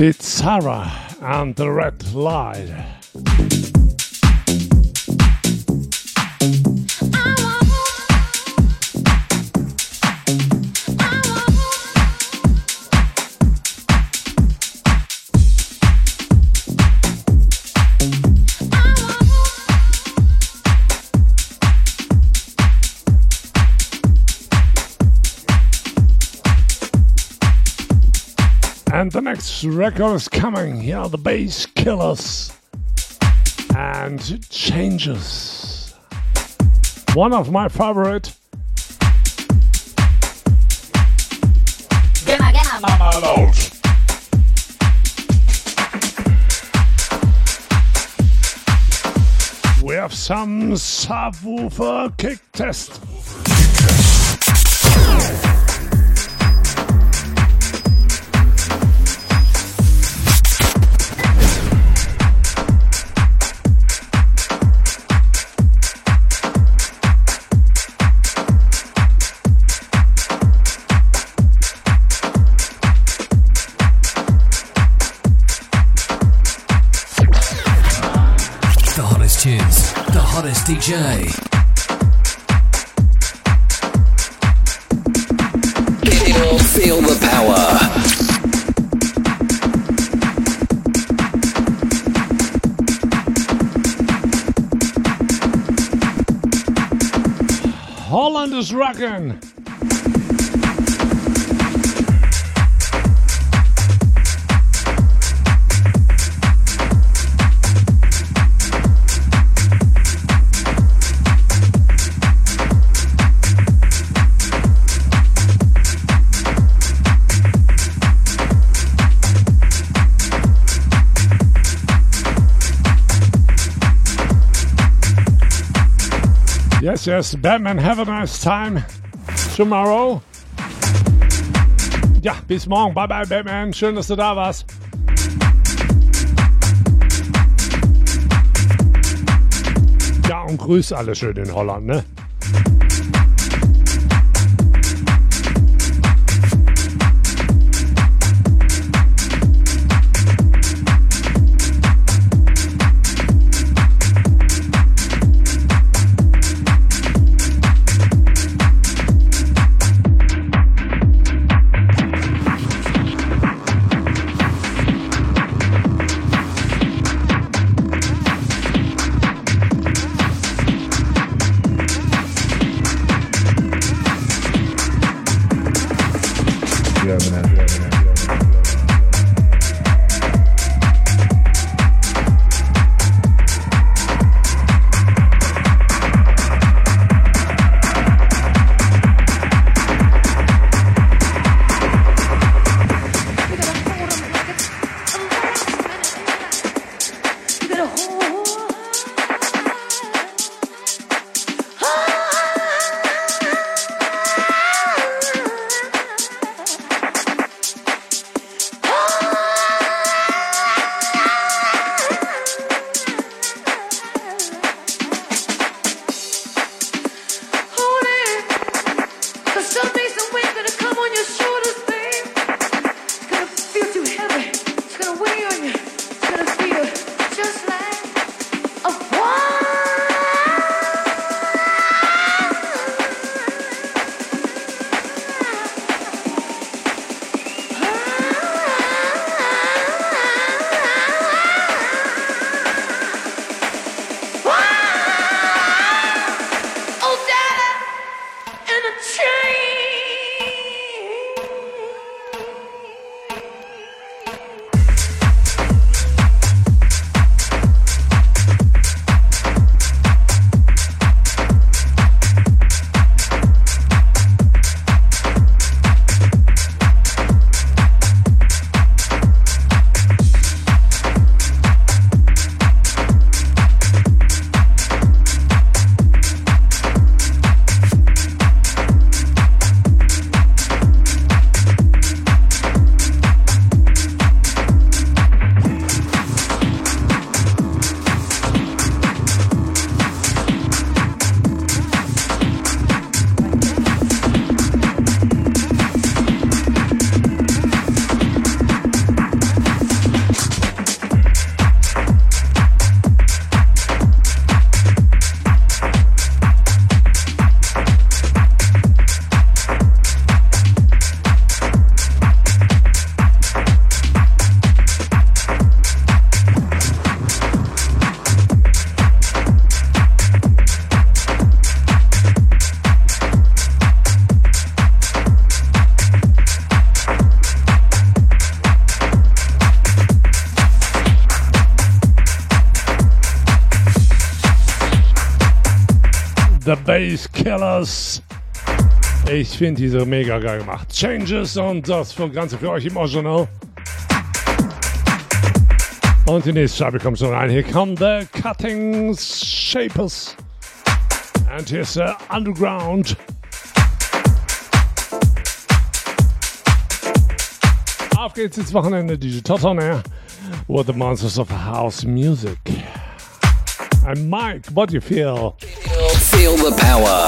Pizarra and the Red Light. And the next record is coming. Here are the Bass Killers and Changes. One of my favorite. Gemma, Gemma, Mama Load. We have some subwoofer kick test. D J. Feel the power. Holland is rocking. Yes, yes, Batman, have a nice time tomorrow. Ja, bis morgen. Bye, bye, Batman. Schön, dass du da warst. Ja, und grüß alle schön in Holland, ne? The Bass Killers. Ich finde diese mega geil gemacht. Changes und das Ganze für euch im Original. Und die nächste Scheibe kommt schon rein. Hier kommt The Cutting Shapers. And here's the Underground. Auf geht's ins Wochenende, D J Toto on air with the monsters of house music. And Mike, what do you feel? Feel the power.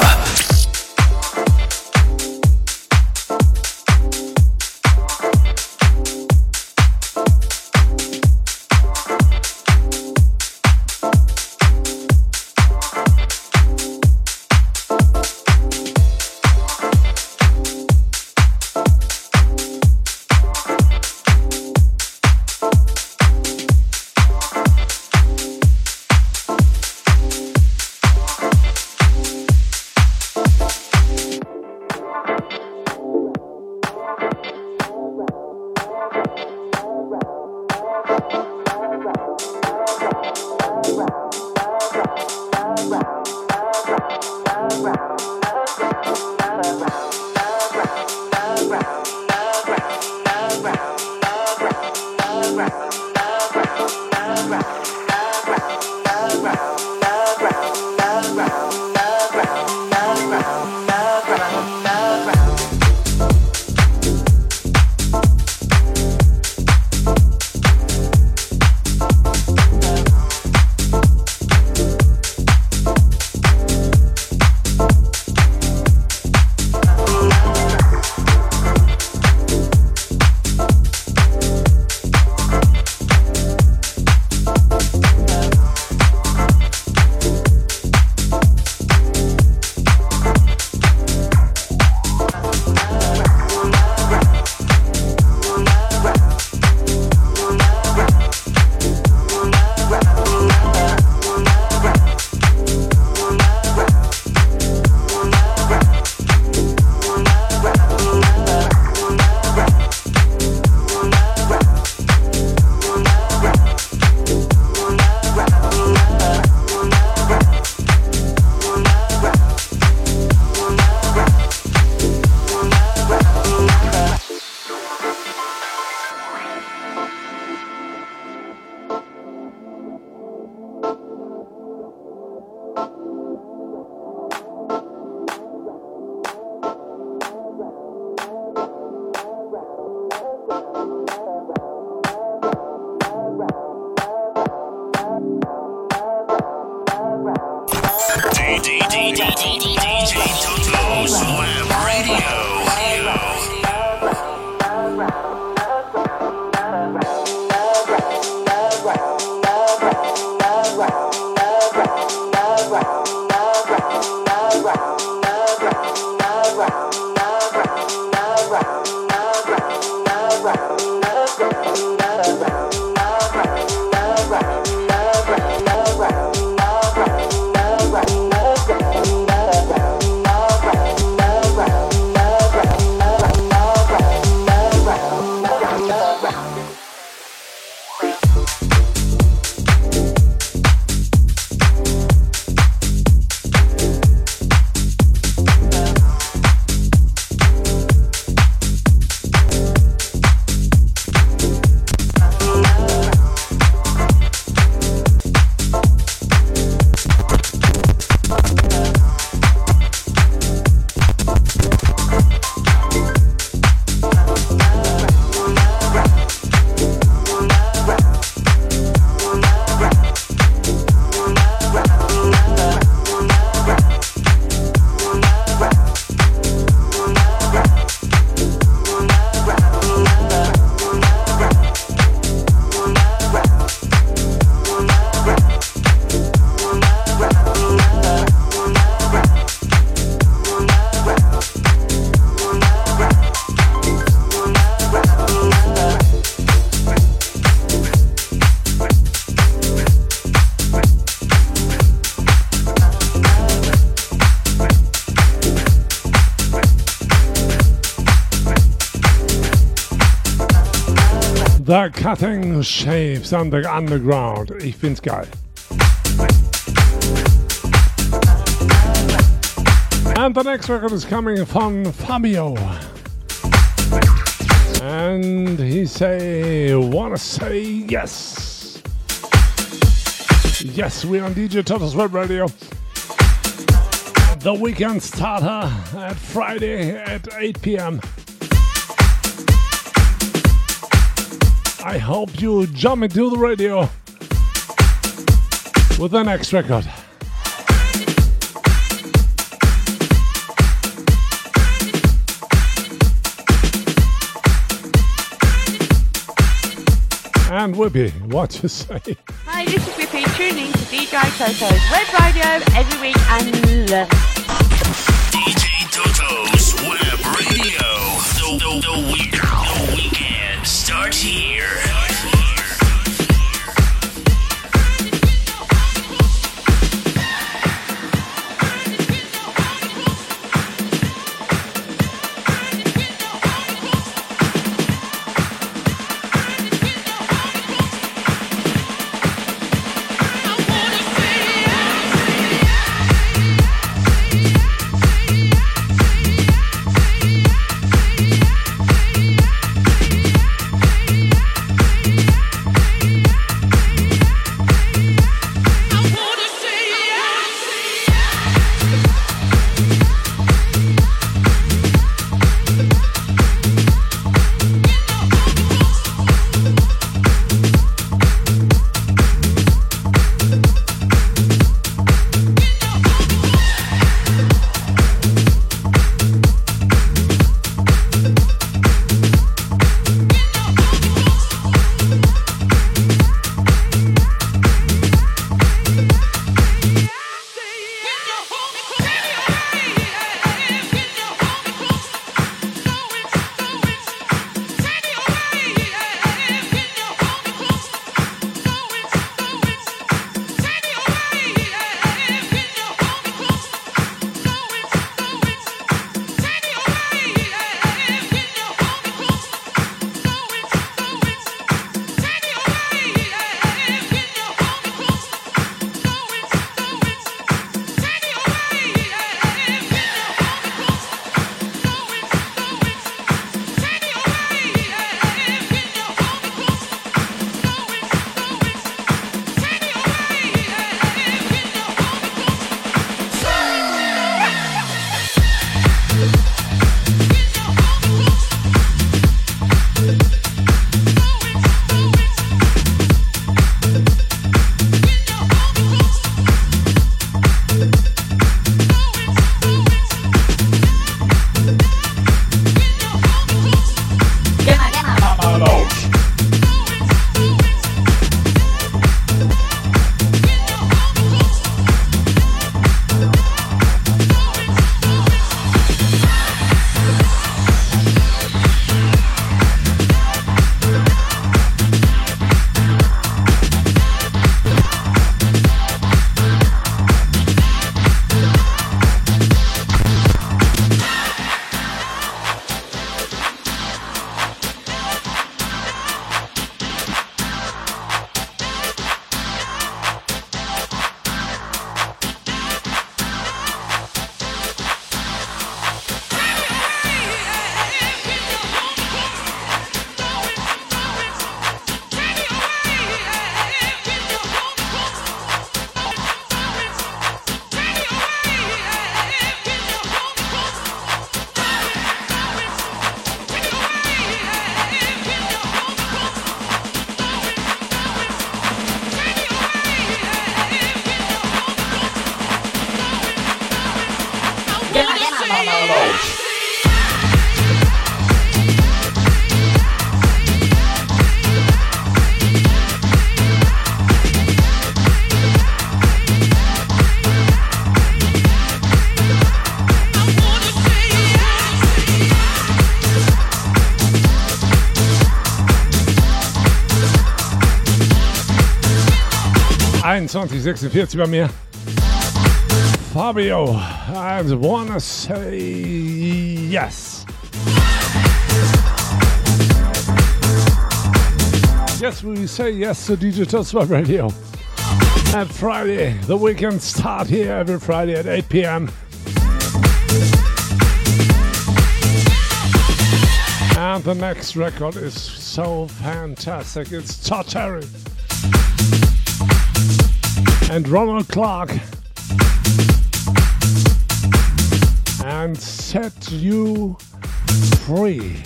The Cutting Shapes on the Underground. Ich find's geil. And the next record is coming from Fabio. And he say, wanna say yes. Yes, we're on D J Toto's Web Radio. The weekend starter at Friday at eight p.m. I hope you jump into the radio with the next record. And Whippy, what you say? Hi, this is Whippy, tuning to D J Toto's Web Radio every week and love it. D J Toto's Web Radio. The, the, the, week, the weekend starts here. einundzwanzig sechsundvierzig bei mir. Fabio, I wanna say yes. Yes, we say yes to D J Toto's Web Radio. And Friday, the weekend start here every Friday at eight p.m. And the next record is so fantastic. It's Todd Terry and Ronald Clark and Set You Free.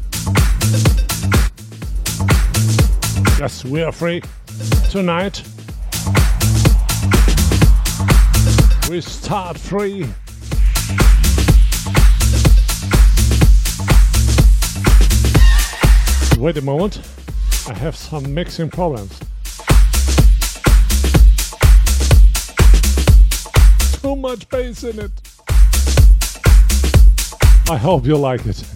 Yes, we are free tonight. We start free. Wait a moment, I have some mixing problems. Too much bass in it. I hope you like it.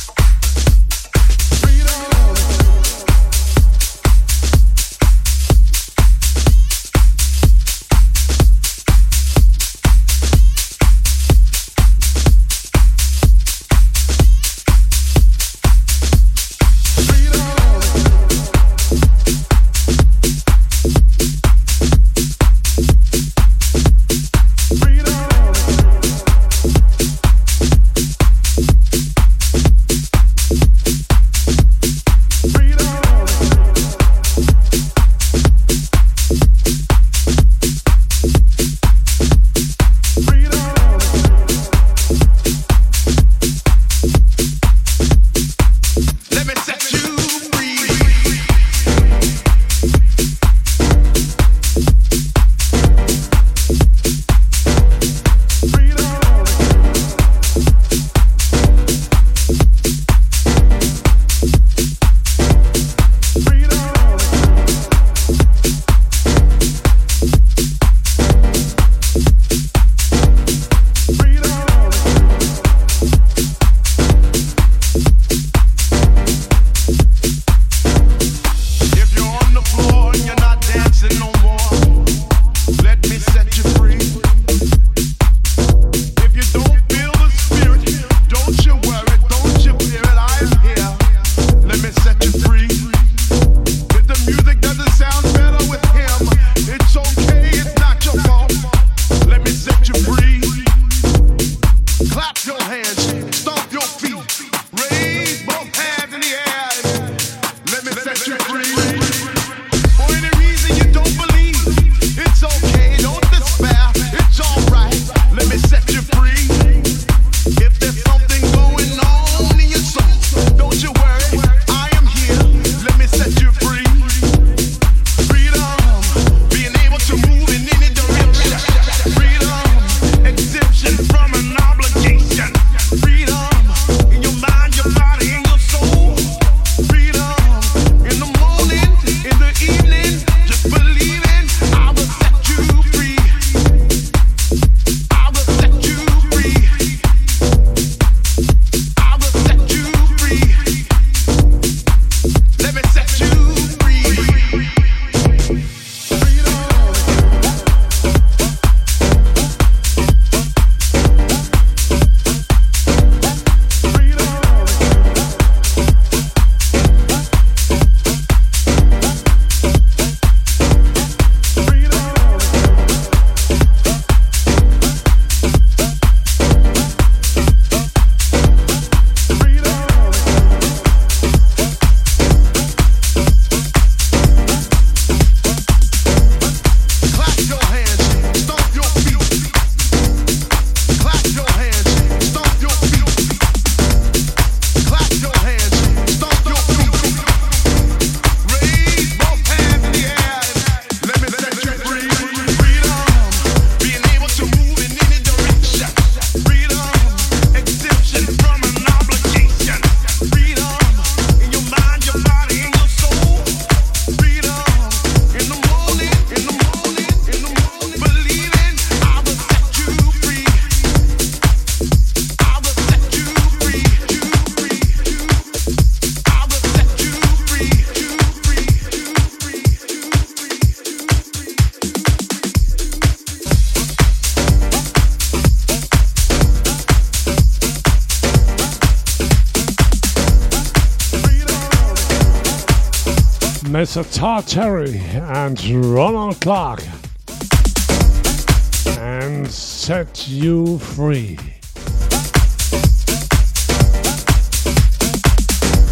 Mister Todd Terry and Ronald Clark and Set You Free.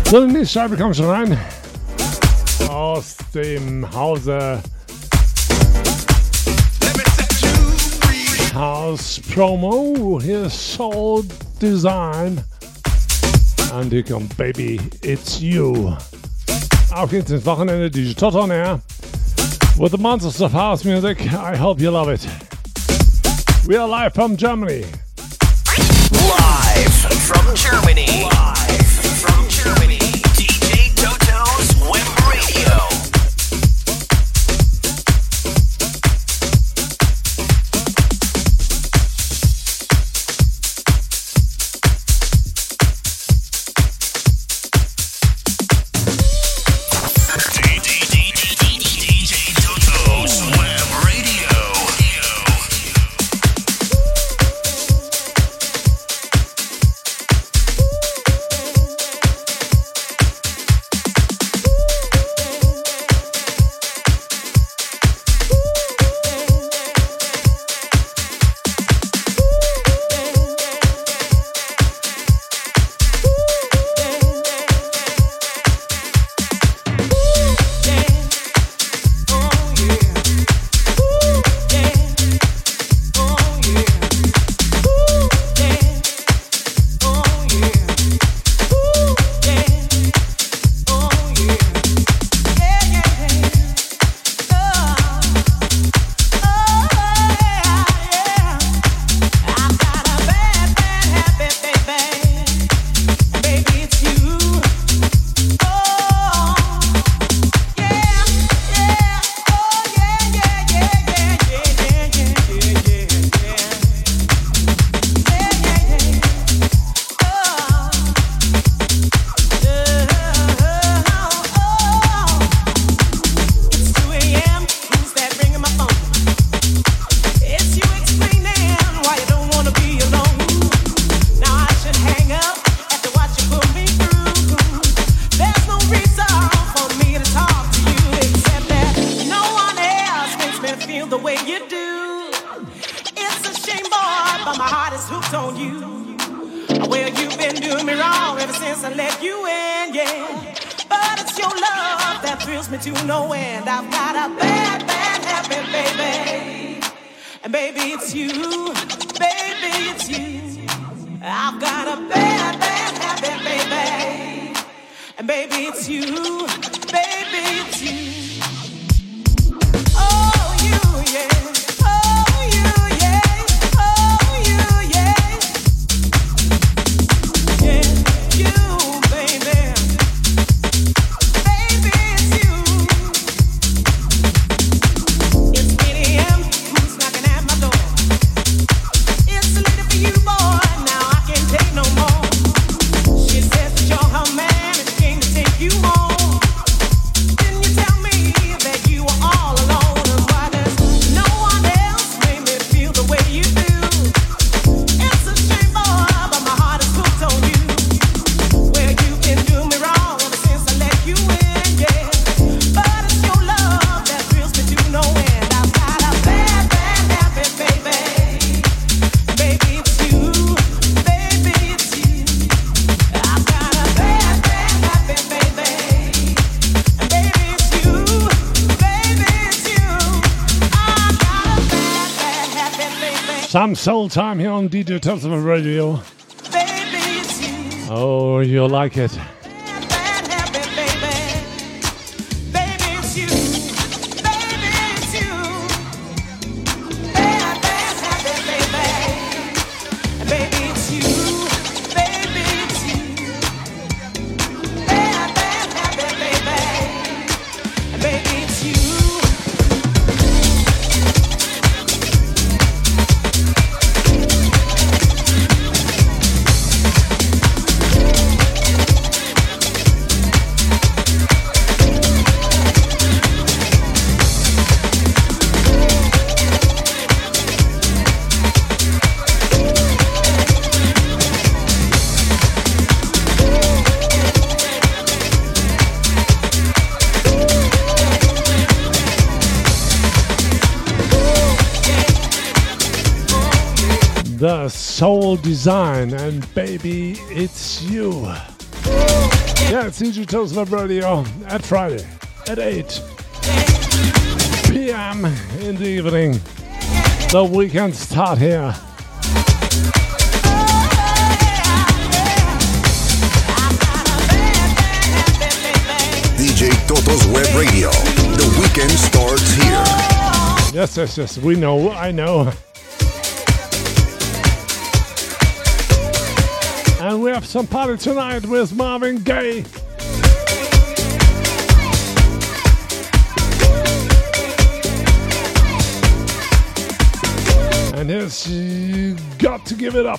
So, die nächste Scheibe kommt schon rein. Aus dem Hause House Promo. Hier ist Soul Design. Und hier kommt Baby, It's You. Auf geht's ins Wochenende. D J Toto on air with the monsters of house music. I hope you love it. We are live from Germany. Live from Germany. Live from Germany. D J Toto's Web Radio. Some soul time here on D J Toto's Radio. Oh, you'll like it. The Soul Design and Baby, It's You. Yeah, it's D J Toto's Web Radio at Friday at eight p m in the evening. The weekend start here. D J Toto's Web Radio. The weekend starts here. Yes, yes, yes. We know. I know. And we have some party tonight with Marvin Gaye. And here's You Got to Give It Up.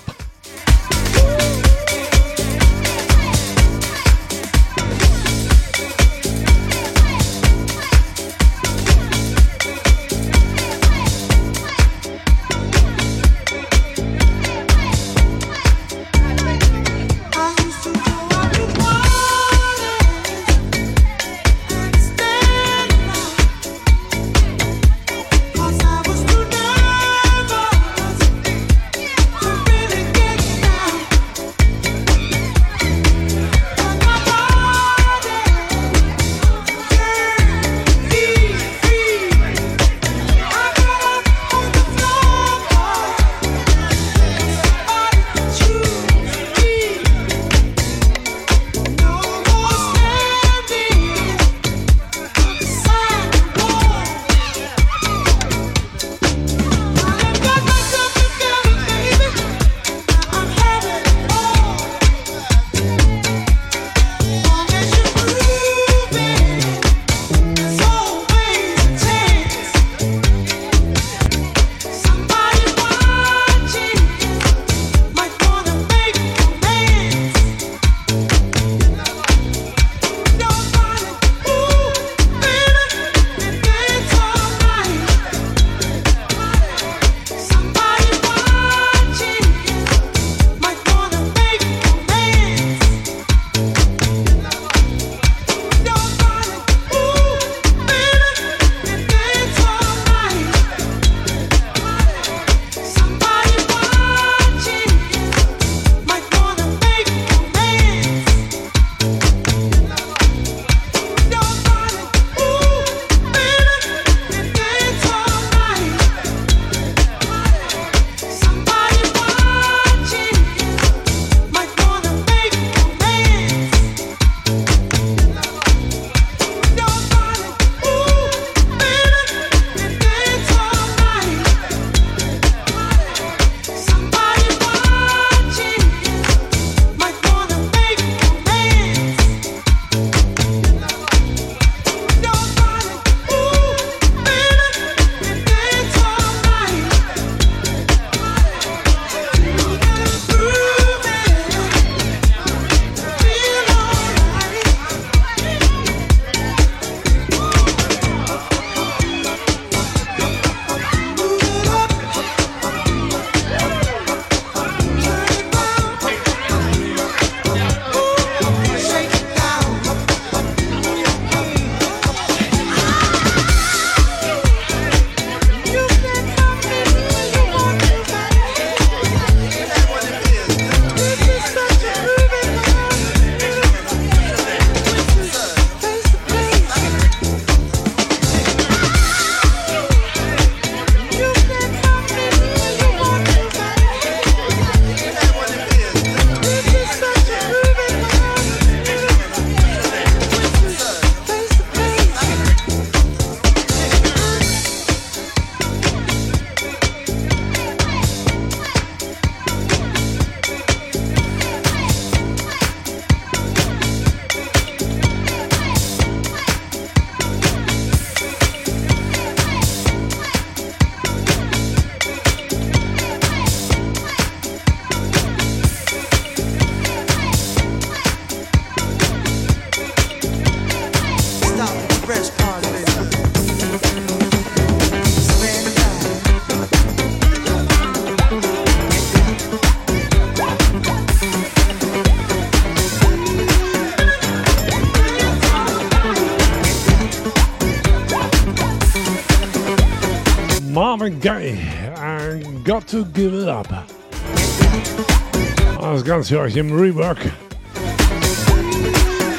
Marvin Gaye, and Got to Give It Up. Das Ganze für euch im Rework.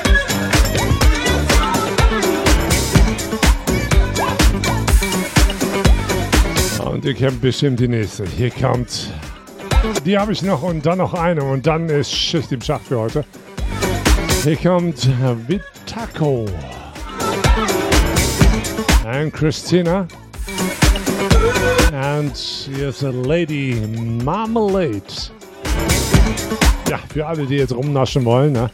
Ihr kennt bestimmt die nächste. Hier kommt. Die habe ich noch und dann noch eine und dann ist Schicht im Schacht für heute. Hier kommt Vitako and Christina. And here's a Lady Marmalade. Ja, für alle, die jetzt rumnaschen wollen, ne?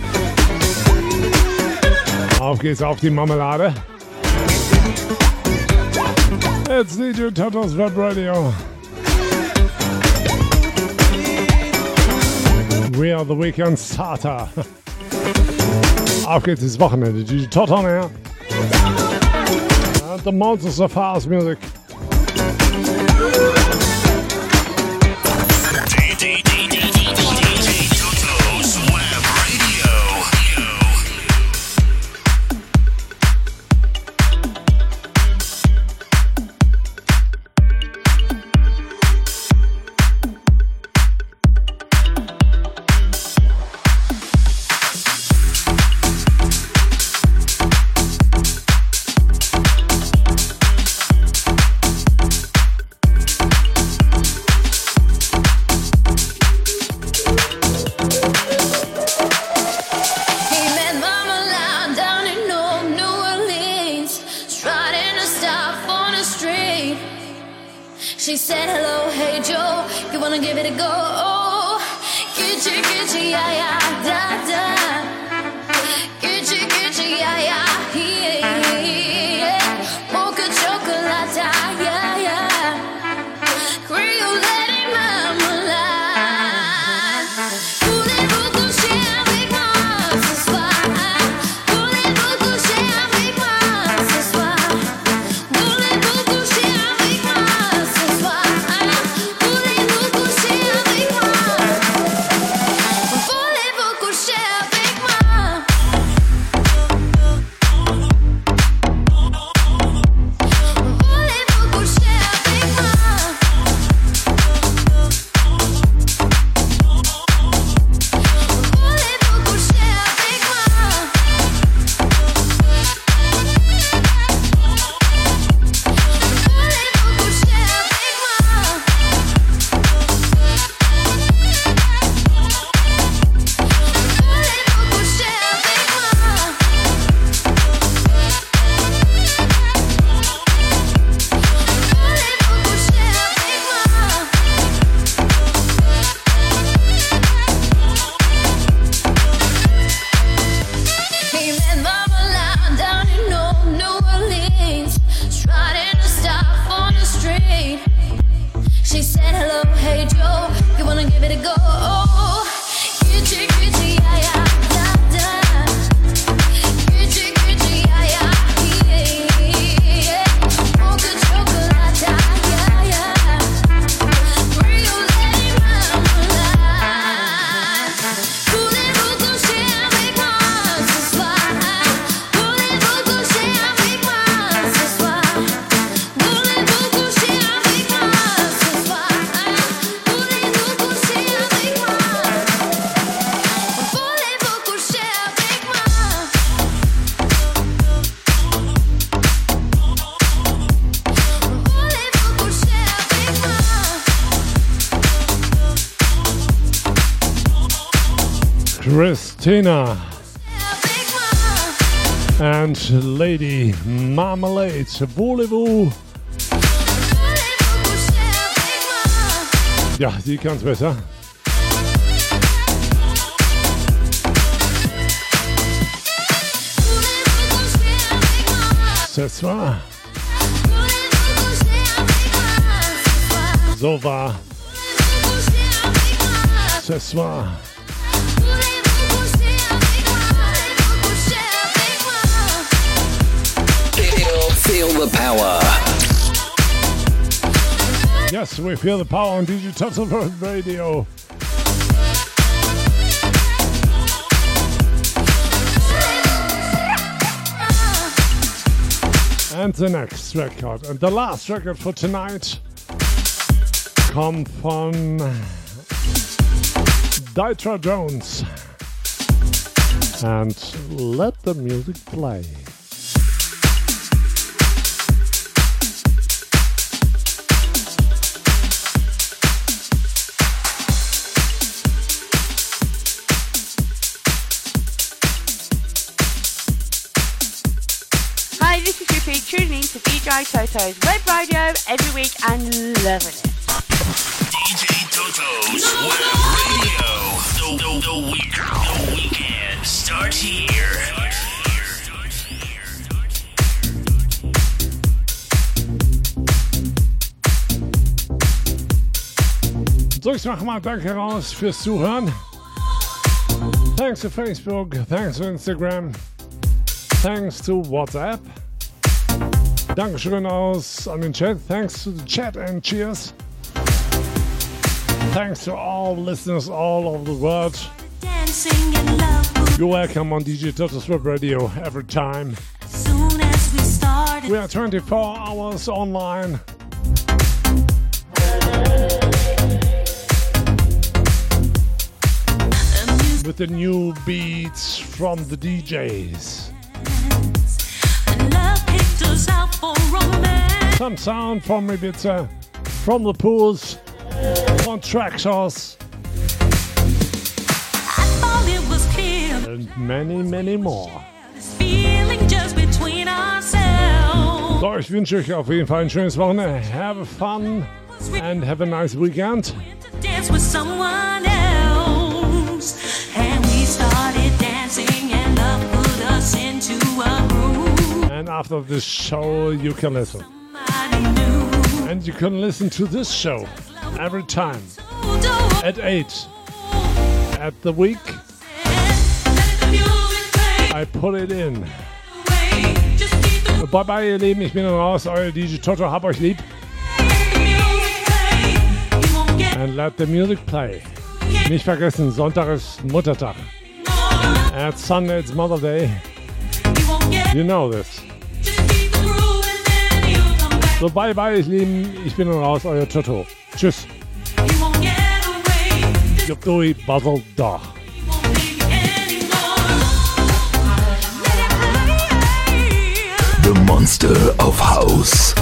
Auf geht's auf die Marmelade. It's D J Toto's Web Radio. We are the weekend starter. Auf geht's ins Wochenende. D J Toto here. And the Monsters of House Music. She said, hello, hey Joe, you wanna give it a go? Oh, kitchi, kitchi, yeah, yeah, da, da. Kitchi, kitchi, yeah, yeah, yeah. Mocha chocolate, yeah, yeah. Creole lady marmalade. Voulez-vous coucher avec moi ce soir? Voulez-vous coucher avec moi ce soir? Voulez-vous coucher avec moi ce soir? Voulez-vous coucher avec moi? Voulez-vous coucher avec moi? Voulez-vous coucher avec moi? Voulez-vous coucher avec moi? Voulez-vous coucher avec moi? Voulez-vous coucher avec moi? Voulez-vous coucher avec moi? He met Marmalade down in Old New Orleans, striding a staff on the street. She said, hello, hey Joe, you wanna give it a go? Oh, kitchi, kitchi, yeah, yeah, da, da. Kitchi, kitchi, yeah, yeah, yeah. Mocha chocolate, yeah, yeah. Creole lady marmalade. Voulez-vous coucher avec moi ce soir? Voulez-vous coucher avec moi ce soir? Voulez-vous coucher avec moi ce soir? Voulez-vous coucher avec moi? Voulez-vous coucher avec moi? Voulez-vous coucher avec moi? Christina and Lady Marmalade. Voulez-vous? Ja, die kann's besser. Ce soir. So war. Ce soir. Feel the power. Yes, we feel the power on D J Toto's Web Radio. And the next record, and the last record for tonight, come from Dytra Jones. And let the music play. J Toto's Web Radio every week and loving it. D J Toto's Web Radio. The, the, the, week, the weekend starts here. So, ich mach mal Danke raus fürs Zuhören. Thanks to Facebook, thanks to Instagram, thanks to WhatsApp. Dankeschön aus an den Chat, thanks to the chat and cheers. Thanks to all listeners all over the world. You're welcome on D J Toto's Web Radio every time. Soon as we started, we are twenty-four hours online. With the new beats from the D Js. Some sound from Ibiza, from the pools, from Traxos, and many, many more. So, ich wünsche euch auf jeden Fall ein schönes Wochenende. Have fun and have a nice weekend. Dance with someone else, and we started dancing, and love put us into a groove. And after this show, you can listen. And you can listen to this show every time at eight at the week. I put it in. Bye bye, ihr Lieben. Ich bin dann raus. Euer D J Toto. Hab euch lieb. And let the music play. Nicht vergessen, Sonntag ist Muttertag. At Sunday it's Mother Day. You know this. So, bye bye, ihr Lieben. Ich bin dann raus. Euer Toto. Tschüss. Jobdui Basel da. The Monster of House.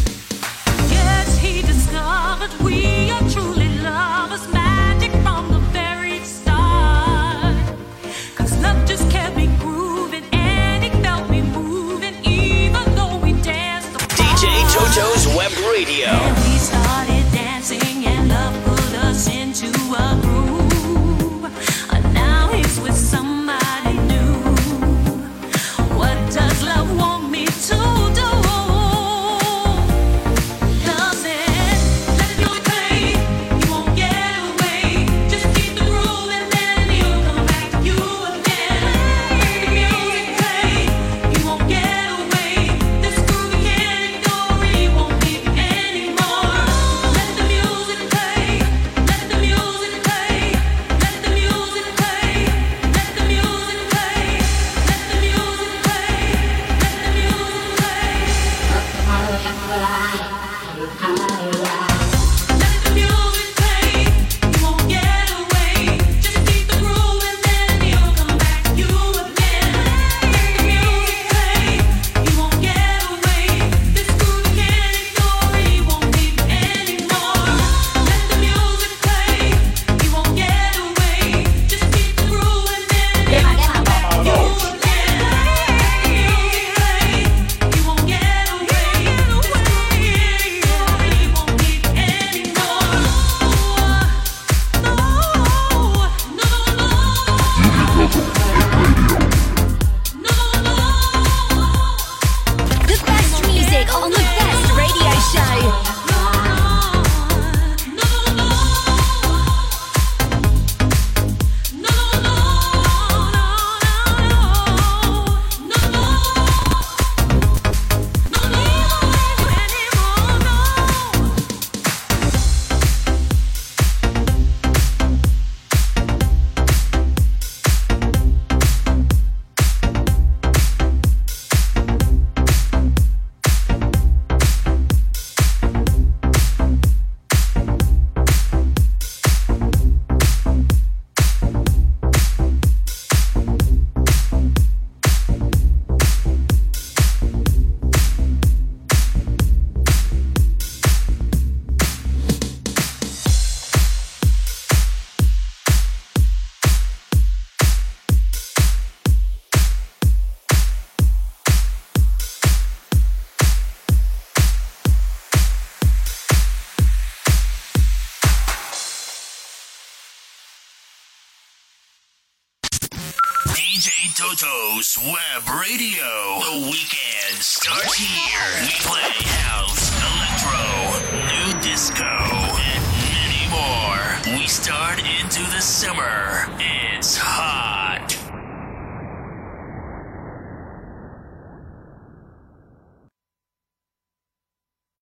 Yes, he discovered we are truly lovers, magic from the J Toto's Web Radio. The weekend starts here. We play house, electro, new disco, and many more. We start into the summer. It's hot.